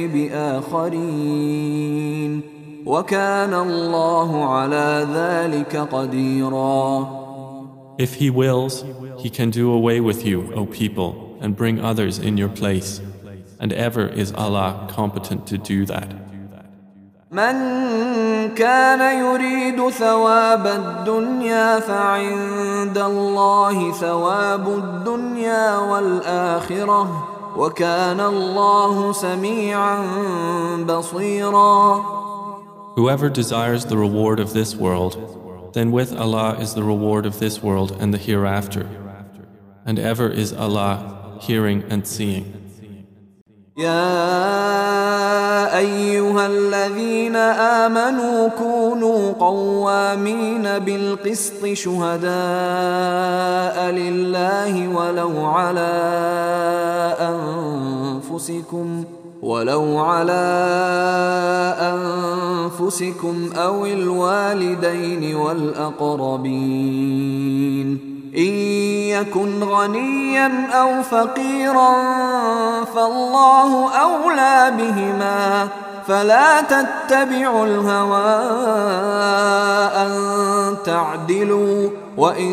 بآخرين وكان الله على ذلك قديرا.
If He wills, He can do away with you, O people, and bring others in your place. And ever is Allah competent to do that.
من كان يريد ثواب الدنيا فعند الله ثواب الدنيا والآخرة وكان الله سميعا بصيرا.
Whoever desires the reward of this world, then with Allah is the reward of this world and the hereafter. And ever is Allah hearing and seeing.
يا أيها الذين آمنوا كونوا قوامين بالقسط شهداء لله ولو على أنفسكم أو الوالدين والأقربين إن يكن غنيا أو فقيرا فالله أولى بهما فلا تتبعوا الهوى أن تعدلوا وإن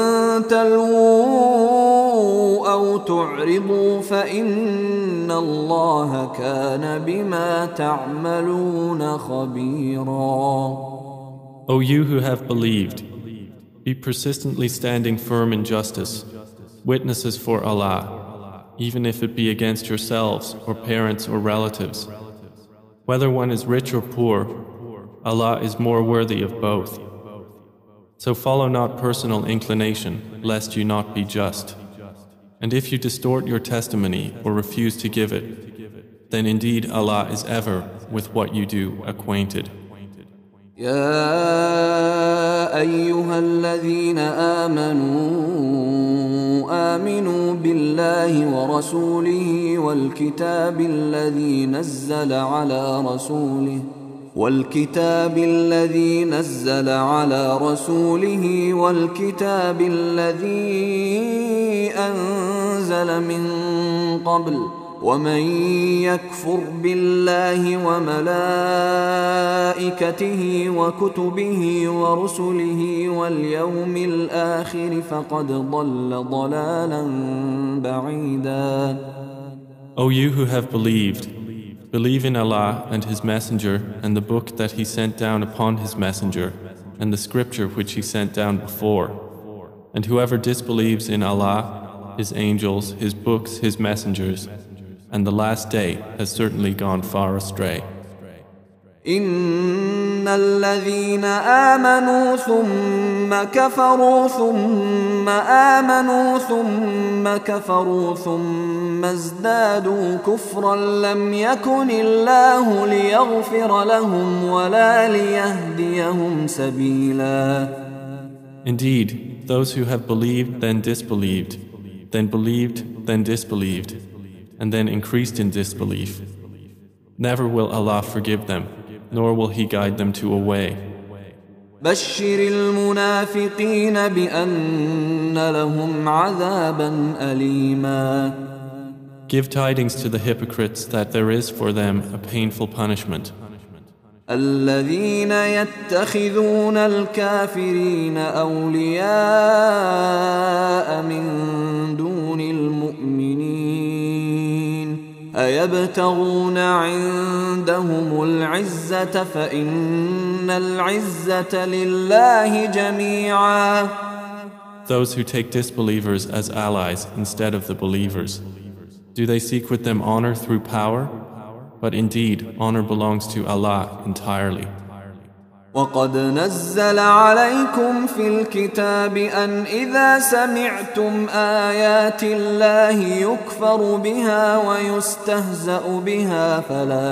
تلووا أو تعرضوا فإن الله كان بما تعملون خبيرا.
O you who have believed, be persistently standing firm in justice, witnesses for Allah, even if it be against yourselves or parents or relatives. Whether one is rich or poor, Allah is more worthy of both. So follow not personal inclination, lest you not be just. And if you distort your testimony or refuse to give it, then indeed Allah is ever with what you do acquainted.
يا أيها الذين آمنوا بالله ورسوله والكتاب الذي نزل على رسوله والكتاب الذي أنزل من قبل ومن يكفر بالله وملائكته وكتبه ورسله واليوم الآخر فقد ضل ضلالا بعيدا.
O you who have believed, believe in Allah and His Messenger and the book that He sent down upon His Messenger and the scripture which He sent down before. And whoever disbelieves in Allah, His angels, His books, His messengers, and the last day has certainly gone far astray.
إن الذين آمنوا ثم كفروا ثم آمنوا ثم كفروا ثم ازدادوا كفرا لم يكن الله ليغفر لهم ولا ليهديهم سبيلا.
Indeed, those who have believed then disbelieved, then believed then disbelieved, and then increased in disbelief. Never will Allah forgive them, nor will He guide them to a way.
بشر المنافقين بأن لهم عذابا أليما.
Give tidings to the hypocrites that there is for them a painful punishment.
الذين يتخذون الكافرين أولياء من دون المؤمنين أيبتغون عندهم العزة فإن العزة لله جميعا.
Those who take disbelievers as allies instead of the believers, do they seek with them honor through power? But indeed, honor belongs to Allah entirely.
وقد نزل عليكم في الكتاب أن إذا سمعتم آيات الله يكفر بها ويستهزأ بها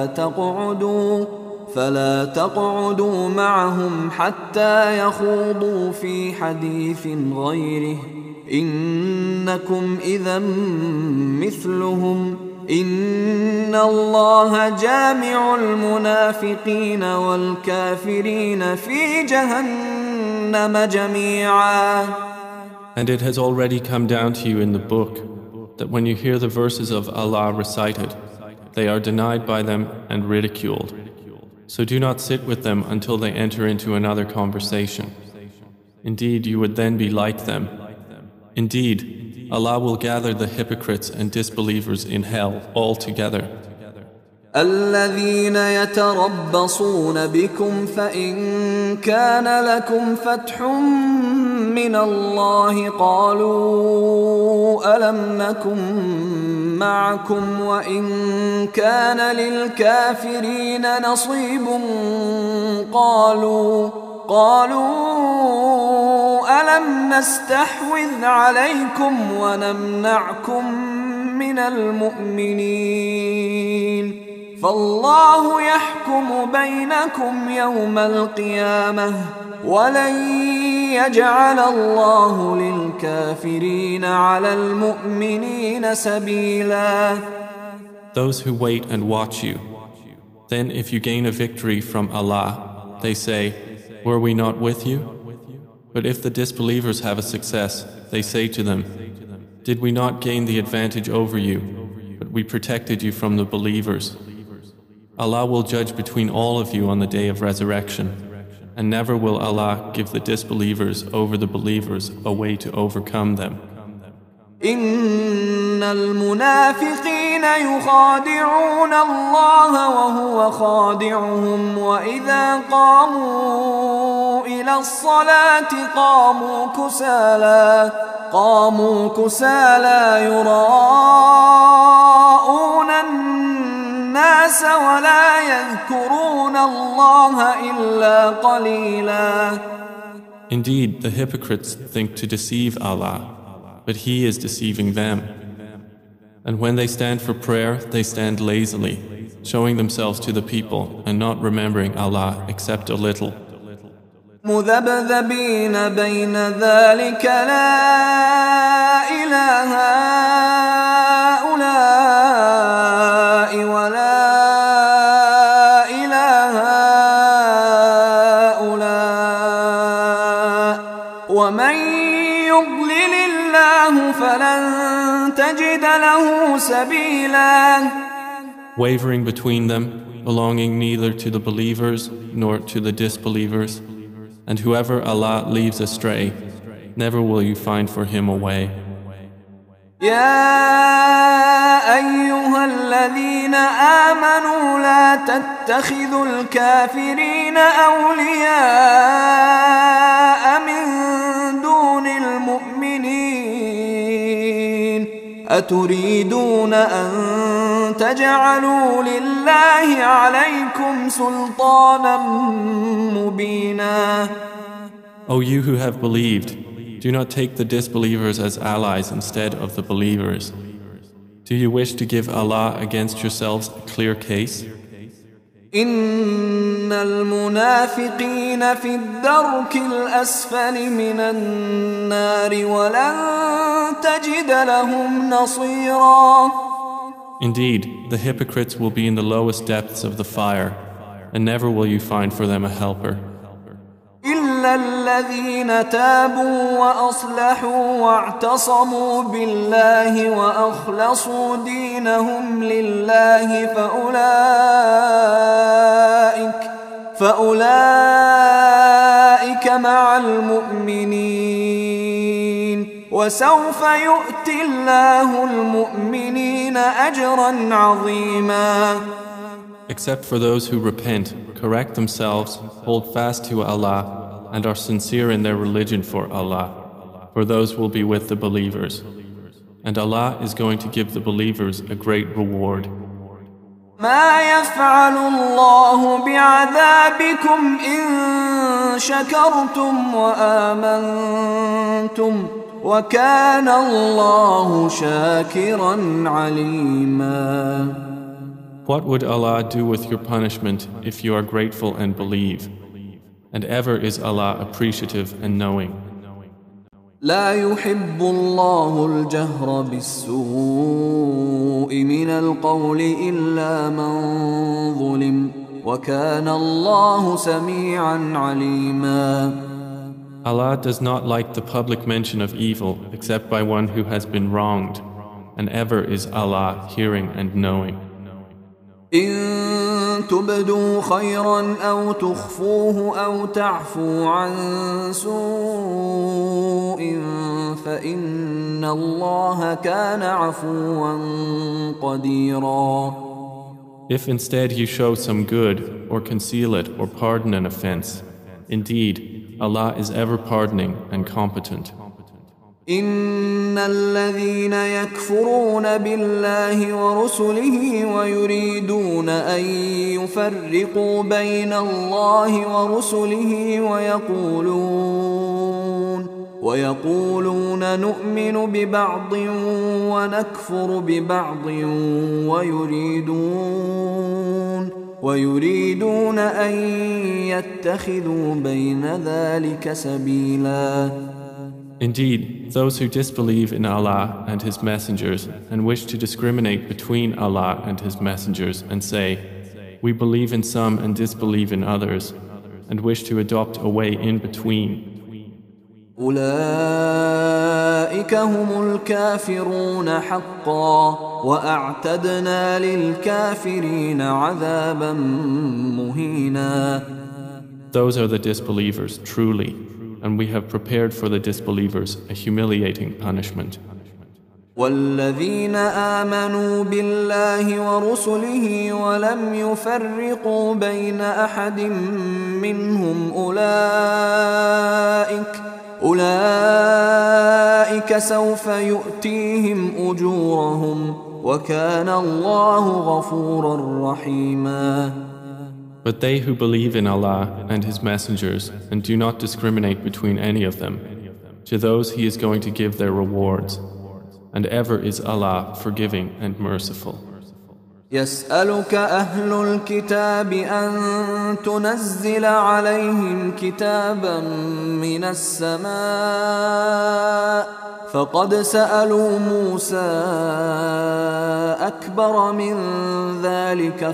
فلا تقعدوا معهم حتى يخوضوا في حديث غيره إنكم إذا مثلهم إن الله جامع المنافقين والكافرين في جهنم جميعا.
And it has already come down to you in the book that when you hear the verses of Allah recited, they are denied by them and ridiculed. So do not sit with them until they enter into another conversation. Indeed, you would then be like them. Indeed, Allah will gather the hypocrites and disbelievers in hell all together.
الذين يتربصون بكم فإن كان لكم فتح من الله قالوا ألم نكن معكم وإن كان للكافرين نصيب قالوا ألم نستحوذ عليكم ونمنعكم من المؤمنين فالله يحكم بينكم يوم القيامة ولن يجعل الله للكافرين على المؤمنين سبيلا.
Those who wait and watch you, then if you gain a victory from Allah, they say, were we not with you? But if the disbelievers have a success, they say to them, did we not gain the advantage over you, but we protected you from the believers? Allah will judge between all of you on the day of resurrection, and never will Allah give the disbelievers over the believers a way to overcome them.
إن المنافقين يخادعون الله وهو خادعهم وإذا قاموا إلى الصلاة قاموا كسالى يراءون الناس ولا يذكرون الله إلا قليلا.
Indeed, the hypocrites think to deceive Allah, but He is deceiving them. And when they stand for prayer, they stand lazily, showing themselves to the people and not remembering Allah except a little.
مذبذبين بين ذلك لا إله هؤلاء ولا إله هؤلاء ومن يضلل الله فلن تجد له سبيلا.
Wavering between them, belonging neither to the believers nor to the disbelievers, and whoever Allah leaves astray, never will you find for him a way.
يا أيها الذين آمنوا لا تتخذوا الكافرين أولياء من دون المؤمنين أتريدون أن تجعلوا لله عليكم سلطانا مبينا.
O you who have believed, do not take the disbelievers as allies instead of the believers. Do you wish to give Allah against yourselves a clear case?
إن المنافقين في الدرك الأسفل من النار ولن تجد لهم نصيرا.
Indeed, the hypocrites will be in the lowest depths of the fire, and never will you find for them a helper.
إلا الذين تابوا وأصلحوا واعتصموا بالله وأخلصوا دينهم لله فأولئك مع المؤمنين وسوف يؤتي الله المؤمنين أجرا عظيما.
Except for those who repent, correct themselves, hold fast to Allah, and are sincere in their religion for Allah, for those will be with the believers. And Allah is going to give the believers a great reward.
ما يفعل الله بعذابكم إن شكرتم وآمنتم وكان الله شاكرا عليما.
What would Allah do with your punishment if you are grateful and believe? And ever is Allah appreciative and knowing.
لا يحب الله الجهر بالسوء من القول إلا من ظلم وكان الله سميعا عليما.
Allah does not like the public mention of evil except by one who has been wronged, and ever is Allah hearing and knowing.
إن تبدوا خيرا أو تخفوه أو تعفو عن سوء فإن الله كان عفوا قديرا.
If instead you show some good, or conceal it, or pardon an offense, indeed, Allah is ever pardoning and competent.
إن الذين يكفرون بالله ورسله ويريدون أن يفرقوا بين الله ورسله ويقولون نؤمن ببعض ونكفر ببعض ويريدون أن يتخذوا بين ذلك سبيلا.
Indeed, those who disbelieve in Allah and His messengers and wish to discriminate between Allah and His messengers and say, we believe in some and disbelieve in others, and wish to adopt a way in between.
أولئك هم الكافرون حقا وأعتدنا للكافرين عذابا مهينا.
Those are the disbelievers, truly. And we have prepared for the disbelievers a humiliating punishment.
والذين آمنوا بالله ورسله ولم يفرقوا بين أحد منهم أولئك سوف يؤتيهم أجورهم وكان الله غفورا رحيما.
But they who believe in Allah and His messengers and do not discriminate between any of them, to those He is going to give their rewards, and ever is Allah forgiving and merciful.
يسألك أهل الكتاب أن تنزل عليهم كتابا من السماء فقد سألوا موسى أكبر من ذلك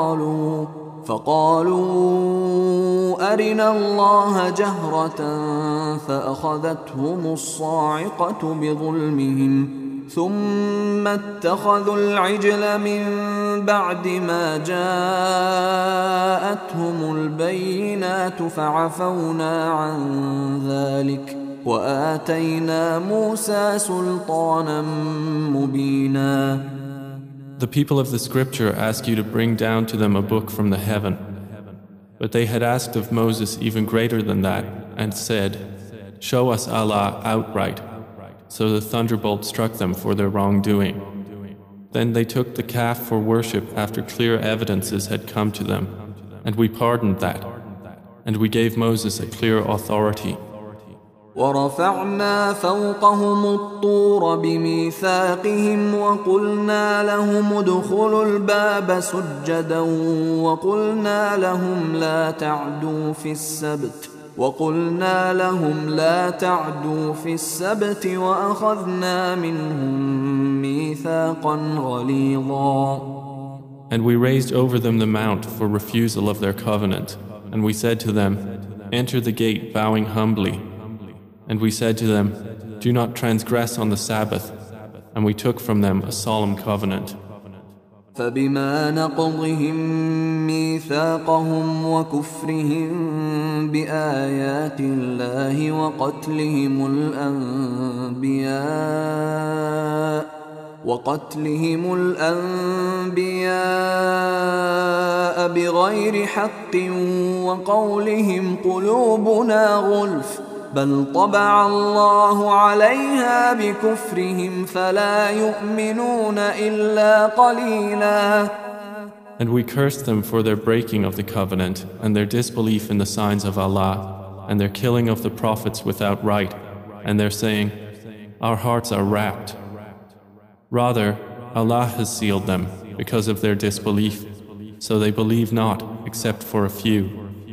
فقالوا أرنا الله جهرة فأخذتهم الصاعقة بظلمهم ثم اتخذوا العجل من بعد ما جاءتهم البينات فعفونا عن ذلك وآتينا موسى سلطانا مبينا.
The people of the scripture ask you to bring down to them a book from the heaven. But they had asked of Moses even greater than that, and said, show us Allah outright. So the thunderbolt struck them for their wrongdoing. Then they took the calf for worship after clear evidences had come to them, and we pardoned that. And we gave Moses a clear authority.
ورفعنا فوقهم الطور بميثاقهم وقلنا لهم ادخلوا الباب سجدا وقلنا لهم لا تعدوا في السبت وأخذنا منهم ميثاقا غليظا.
And we raised over them the mount for refusal of their covenant, and we said to them, enter the gate bowing humbly. And we said to them, do not transgress on the Sabbath. And we took from them a solemn covenant.
فبما نقضهم ميثاقهم وكفرهم بآيات الله وقتلهم الأنبياء بغير حق وقولهم قلوبنا غلف بل طبع الله عليها بكفرهم فلا يؤمنون إلا قليلا.
And we cursed them for their breaking of the covenant and their disbelief in the signs of Allah and their killing of the prophets without right and their saying, our hearts are wrapped. Rather, Allah has sealed them because of their disbelief, so they believe not except for a few.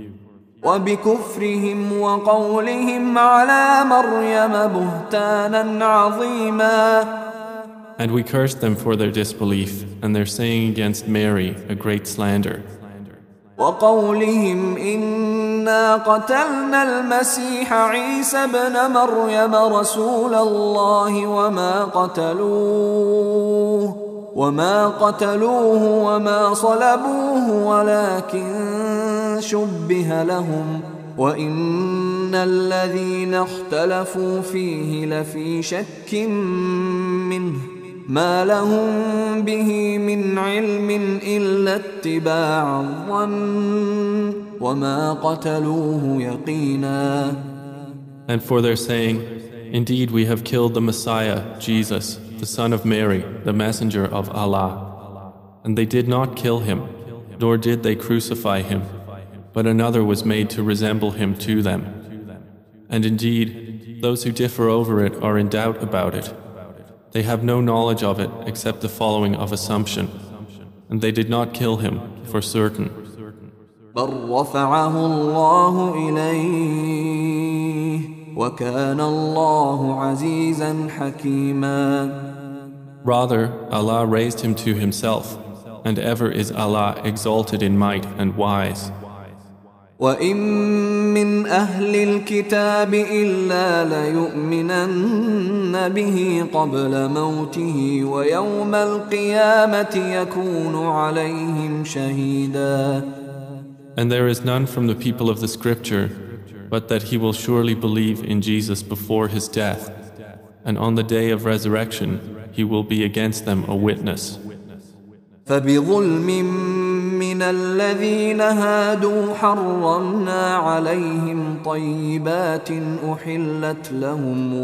وبكفرهم وقولهم على مريم بهتانا عظيما.
And we cursed them for their disbelief and their saying against Mary a great slander.
وقولهم إنا قتلنا المسيح عيسى ابن مريم رسول الله وما قتلوه وما صلبوه ولكن شبه لهم وإن الذين اختلفوا فيه لفي شك منه ما لهم به من علم إلا اتباع الظن وما قتلوه يقينا.
And for their saying, indeed we have killed the Messiah, Jesus, the son of Mary, the messenger of Allah. And they did not kill him, nor did they crucify him, but another was made to resemble him to them. And indeed, those who differ over it are in doubt about it. They have no knowledge of it except the following of assumption, and they did not kill him for certain.
بل رفعه الله إليه وكان الله عزيزا حكيما.
Rather, Allah raised him to himself, and ever is Allah exalted in might and wise.
وَإِن مِّنْ أَهْلِ الْكِتَابِ إِلَّا لَيُؤْمِنَنَّ بِهِ قَبْلَ مَوْتِهِ وَيَوْمَ الْقِيَامَةِ يَكُونُ عَلَيْهِمْ شَهِيدًا.
And there is none from the people of the scripture, but that he will surely believe in Jesus before his death, and on the day of resurrection he will be against them a witness.
فَبِظُلْمٍ مِّنَ الَّذِينَ هَادُوا حَرَّمْنَا عَلَيْهِمْ طَيِّبَاتٍ أُحِلَّتْ لَهُمْ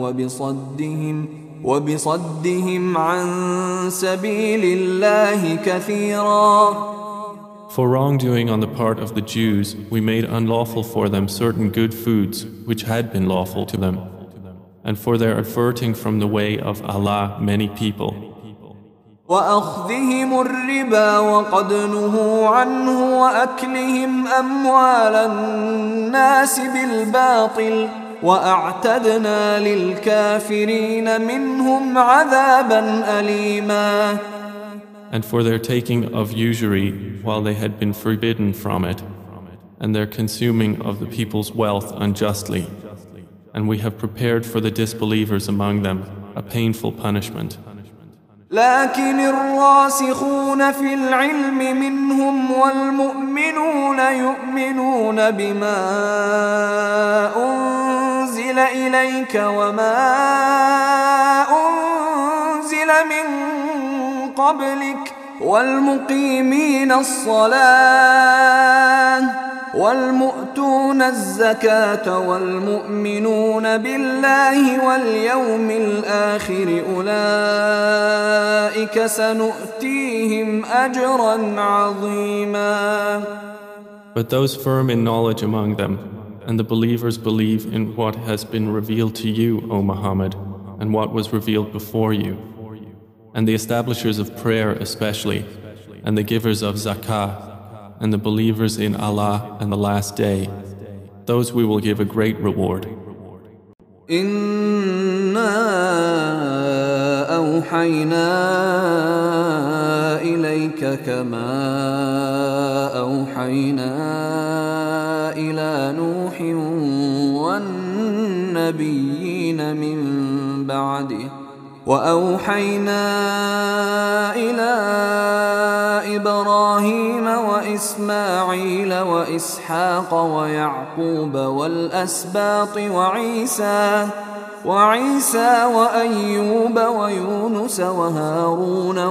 وَبِصَدِّهِمْ عَن سَبِيلِ اللَّهِ كَثِيرًا.
For wrongdoing on the part of the Jews, we made unlawful for them certain good foods which had been lawful to them, and for their averting from the way of Allah many people.
وأخذهم الربا وقد نهوا عنه وأكلهم أموال الناس بالباطل وأعتدنا للكافرين منهم عذابا أليما.
And for their taking of usury while they had been forbidden from it, and their consuming of the people's wealth unjustly, and we have prepared for the disbelievers among them a painful punishment.
لكن الراسخون في العلم منهم والمؤمنون يؤمنون بما أنزل إليك وما أنزل من قبلك والمقيمين الصلاة والمؤتون الزكاة والمؤمنون بالله واليوم الآخر أولئك سنؤتيهم أجرا عظيما.
But those firm in knowledge among them, and the believers believe in what has been revealed to you, O Muhammad, and what was revealed before you, and the establishers of prayer especially, and the givers of zakah, and the believers in Allah and the last day, those we will give a great reward.
إِنَّا أَوْحَيْنَا إِلَيْكَ كَمَا أَوْحَيْنَا إِلَى نوح والنبيين من بعده وأوحينا إلى إبراهيم وإسماعيل وإسحاق ويعقوب والأسباط وعيسى وأيوب ويونس وهارون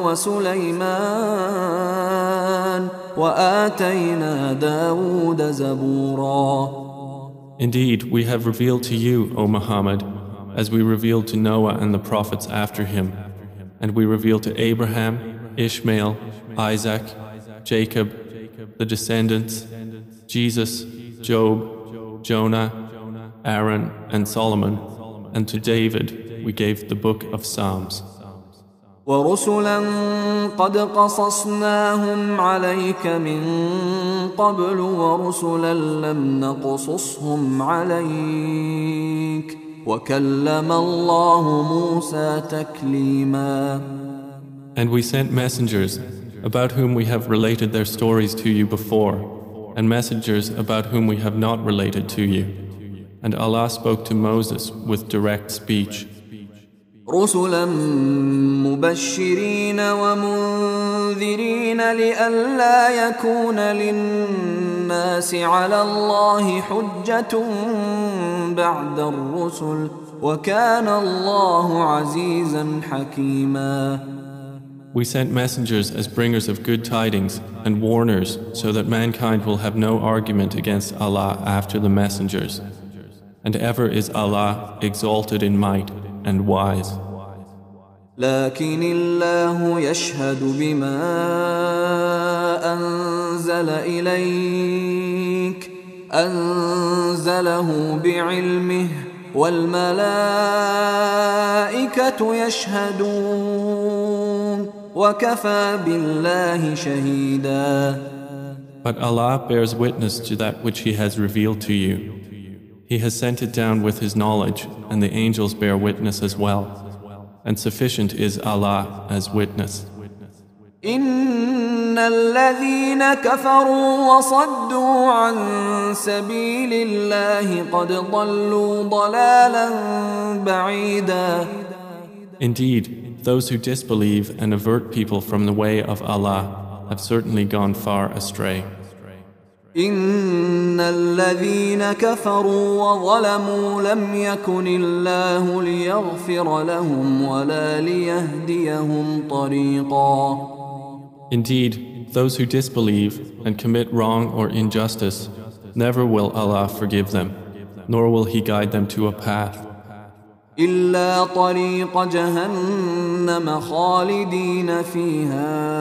وسليمان وآتينا داود زبورا.
Indeed, we have revealed to you, O Muhammad, as we revealed to Noah and the prophets after him, and we revealed to Abraham, Ishmael, Isaac, Jacob, the descendants, Jesus, Job, Jonah, Aaron, and Solomon, and to David we gave the book of Psalms.
ورسلا قد قصصناهم عليك من قبل ورسلا لم نقصصهم عليك وكلم الله موسى تكليما.
And we sent messengers about whom we have related their stories to you before, and messengers about whom we have not related to you. And Allah spoke to Moses with direct speech.
رسلا مبشرين ومنذرين لئلا يكون للناس على الله حجة بعد الرسل وكان الله عزيزا حكيما.
We sent messengers as bringers of good tidings and warners so that mankind will have no argument against Allah after the messengers. And ever is Allah exalted in might and wise.
لكن الله يشهد بما أنزل إليك أنزله بعلمه والملائكة يشهدون وكفى بالله شهيدا.
But Allah bears witness to that which He has revealed to you. He has sent it down with His knowledge, and the angels bear witness as well. And sufficient is Allah as witness.
إن الذين كفروا وصدوا عن سبيل الله قد ضلوا ضلالا بعيدا.
Indeed, those who disbelieve and avert people from the way of Allah have certainly gone far astray.
إن الذين كفروا وظلموا لم يكن الله ليغفر لهم ولا ليهديهم طريقا.
Indeed, those who disbelieve and commit wrong or injustice, never will Allah forgive them, nor will He guide them to a path.
إلا طريق جهنم خالدين فيها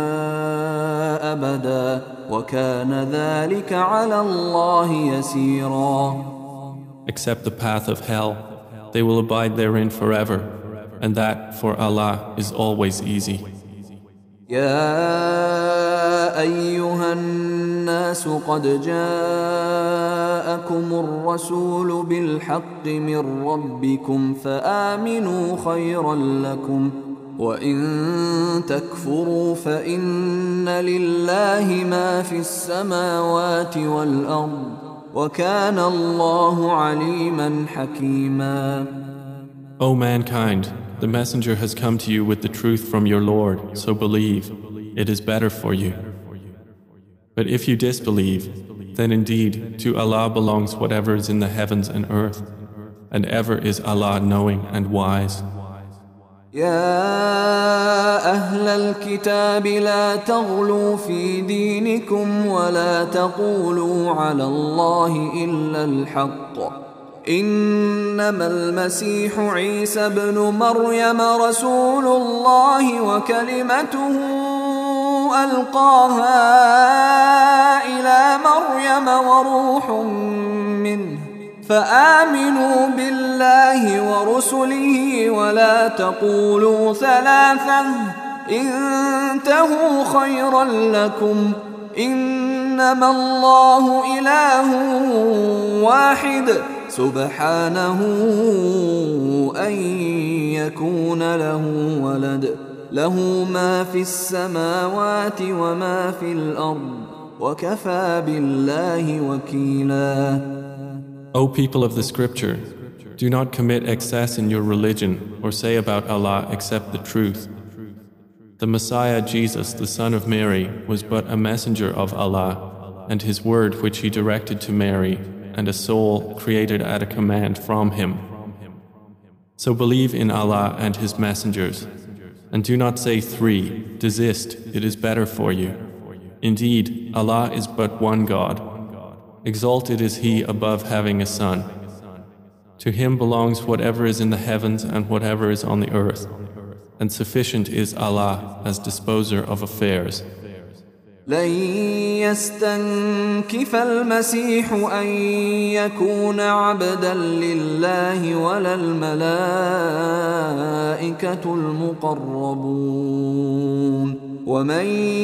أبدا وكان ذلك على الله يسيرا.
Except the path of hell, they will abide therein forever, and that for Allah is always easy.
يا أيها الناس قد جاءكم الرسول بالحق من ربكم فآمنوا خيرا لكم وإن تكفروا فإن لله ما في السماوات والأرض وكان الله عليما حكيما.
O mankind, the messenger has come to you with the truth from your Lord, so believe, it is better for you. But if you disbelieve, then indeed to Allah belongs whatever is in the heavens and earth, and ever is Allah knowing and wise.
يا أهل الكتاب لا تغلوا في دينكم ولا تقولوا على الله إلا الحق إنما المسيح عيسى بن مريم رسول الله وكلمته ألقاها إلى مريم وروح منه فآمنوا بالله ورسله ولا تقولوا ثلاثة انتهوا خيرا لكم إنما الله إله واحد سبحانه أن يكون له ولد له ما في السماوات وما في الأرض وكفى بالله وكيلا.
O people of the scripture, do not commit excess in your religion or say about Allah except the truth. The Messiah Jesus, the son of Mary, was but a messenger of Allah, and his word which he directed to Mary, and a soul created at a command from him. So believe in Allah and his messengers, and do not say 3, desist, it is better for you. Indeed, Allah is but one God. Exalted is He above having a son. To Him belongs whatever is in the heavens and whatever is on the earth, and sufficient is Allah as disposer of affairs.
لن يستنكف المسيح أن يكون عبدا لله ولا الملائكة المقربون ومن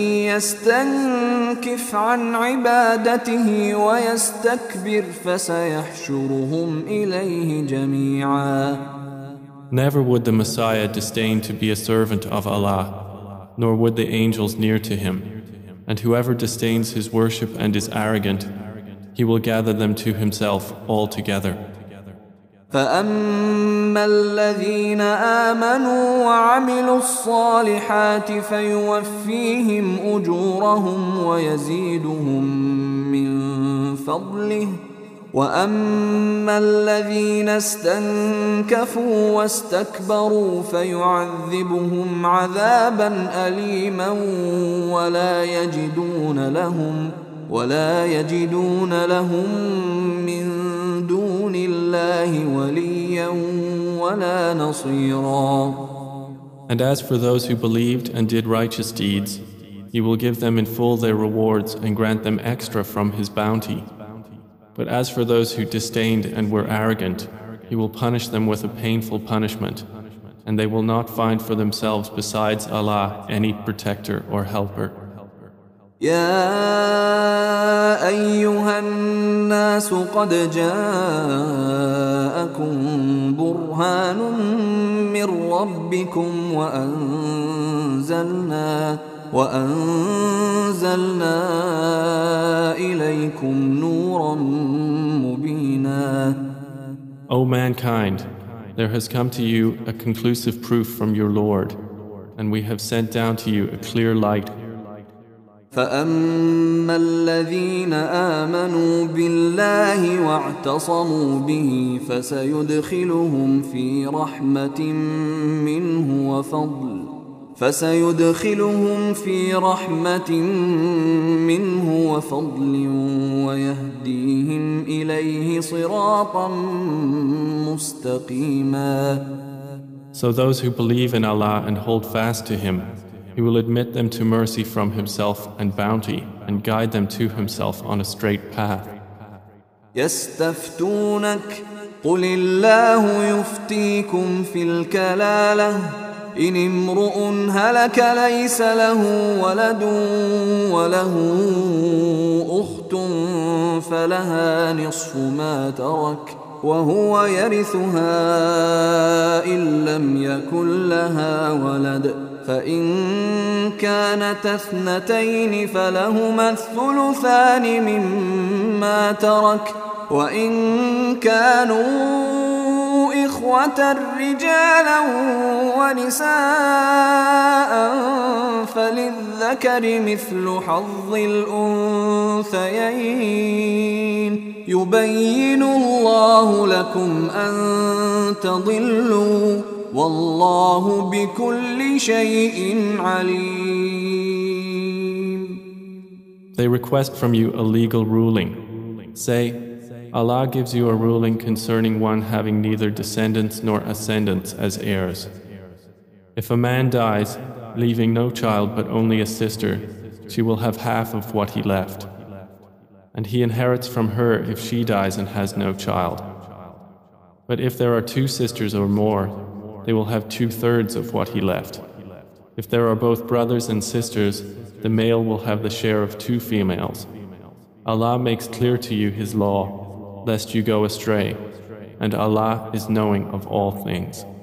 يستنكف عن عبادته ويستكبر فسيحشرهم إليه جميعا.
Never would the Messiah disdain to be a servant of Allah, nor would the angels near to him. And whoever disdains his worship and is arrogant, he will gather them to himself all together.
فأما الذين آمنوا وعملوا الصالحات فيوفيهم أجورهم ويزيدهم من فضله وأما الذين استنكفوا واستكبروا فيعذبهم عذابا أليما ولا يجدون لهم من دون الله وليا ولا نصيرا.
And as for those who believed and did righteous deeds, He will give them in full their rewards and grant them extra from His bounty. But as for those who disdained and were arrogant, He will punish them with a painful punishment, and they will not find for themselves besides Allah any protector or helper.
يا أيها الناس قد جاءكم برهان من ربكم وأنزلنا إليكم نورا مبينا.
O mankind, there has come to you a conclusive proof from your Lord, and we have sent down to you a clear light.
فأما الذين آمنوا بالله واعتصموا به فسيدخلهم في رحمة منه وفضل ويهديهم إليه صراطا مستقيما.
So those who believe in Allah and hold fast to Him, He will admit them to mercy from Himself and bounty and guide them to Himself on a straight path.
يستفتونك قل الله يفتيكم في الكلالة إن امرؤ هلك ليس له ولد وله أخت فلها نصف ما ترك وهو يرثها إن لم يكن لها ولد فإن كانت اثنتين فلهما الثلثان مما ترك وإن كانوا إخوة رجالا ونساء فللذكر مثل حظ الأنثيين يبين الله لكم أن تضلوا والله بكل شيء عليم.
They request from you a legal ruling. Say, Allah gives you a ruling concerning one having neither descendants nor ascendants as heirs. If a man dies, leaving no child but only a sister, she will have half of what he left. And he inherits from her if she dies and has no child. But if there are 2 sisters or more, they will have 2/3 of what he left. If there are both brothers and sisters, the male will have the share of 2 females. Allah makes clear to you His law, lest you go astray, and Allah is knowing of all things.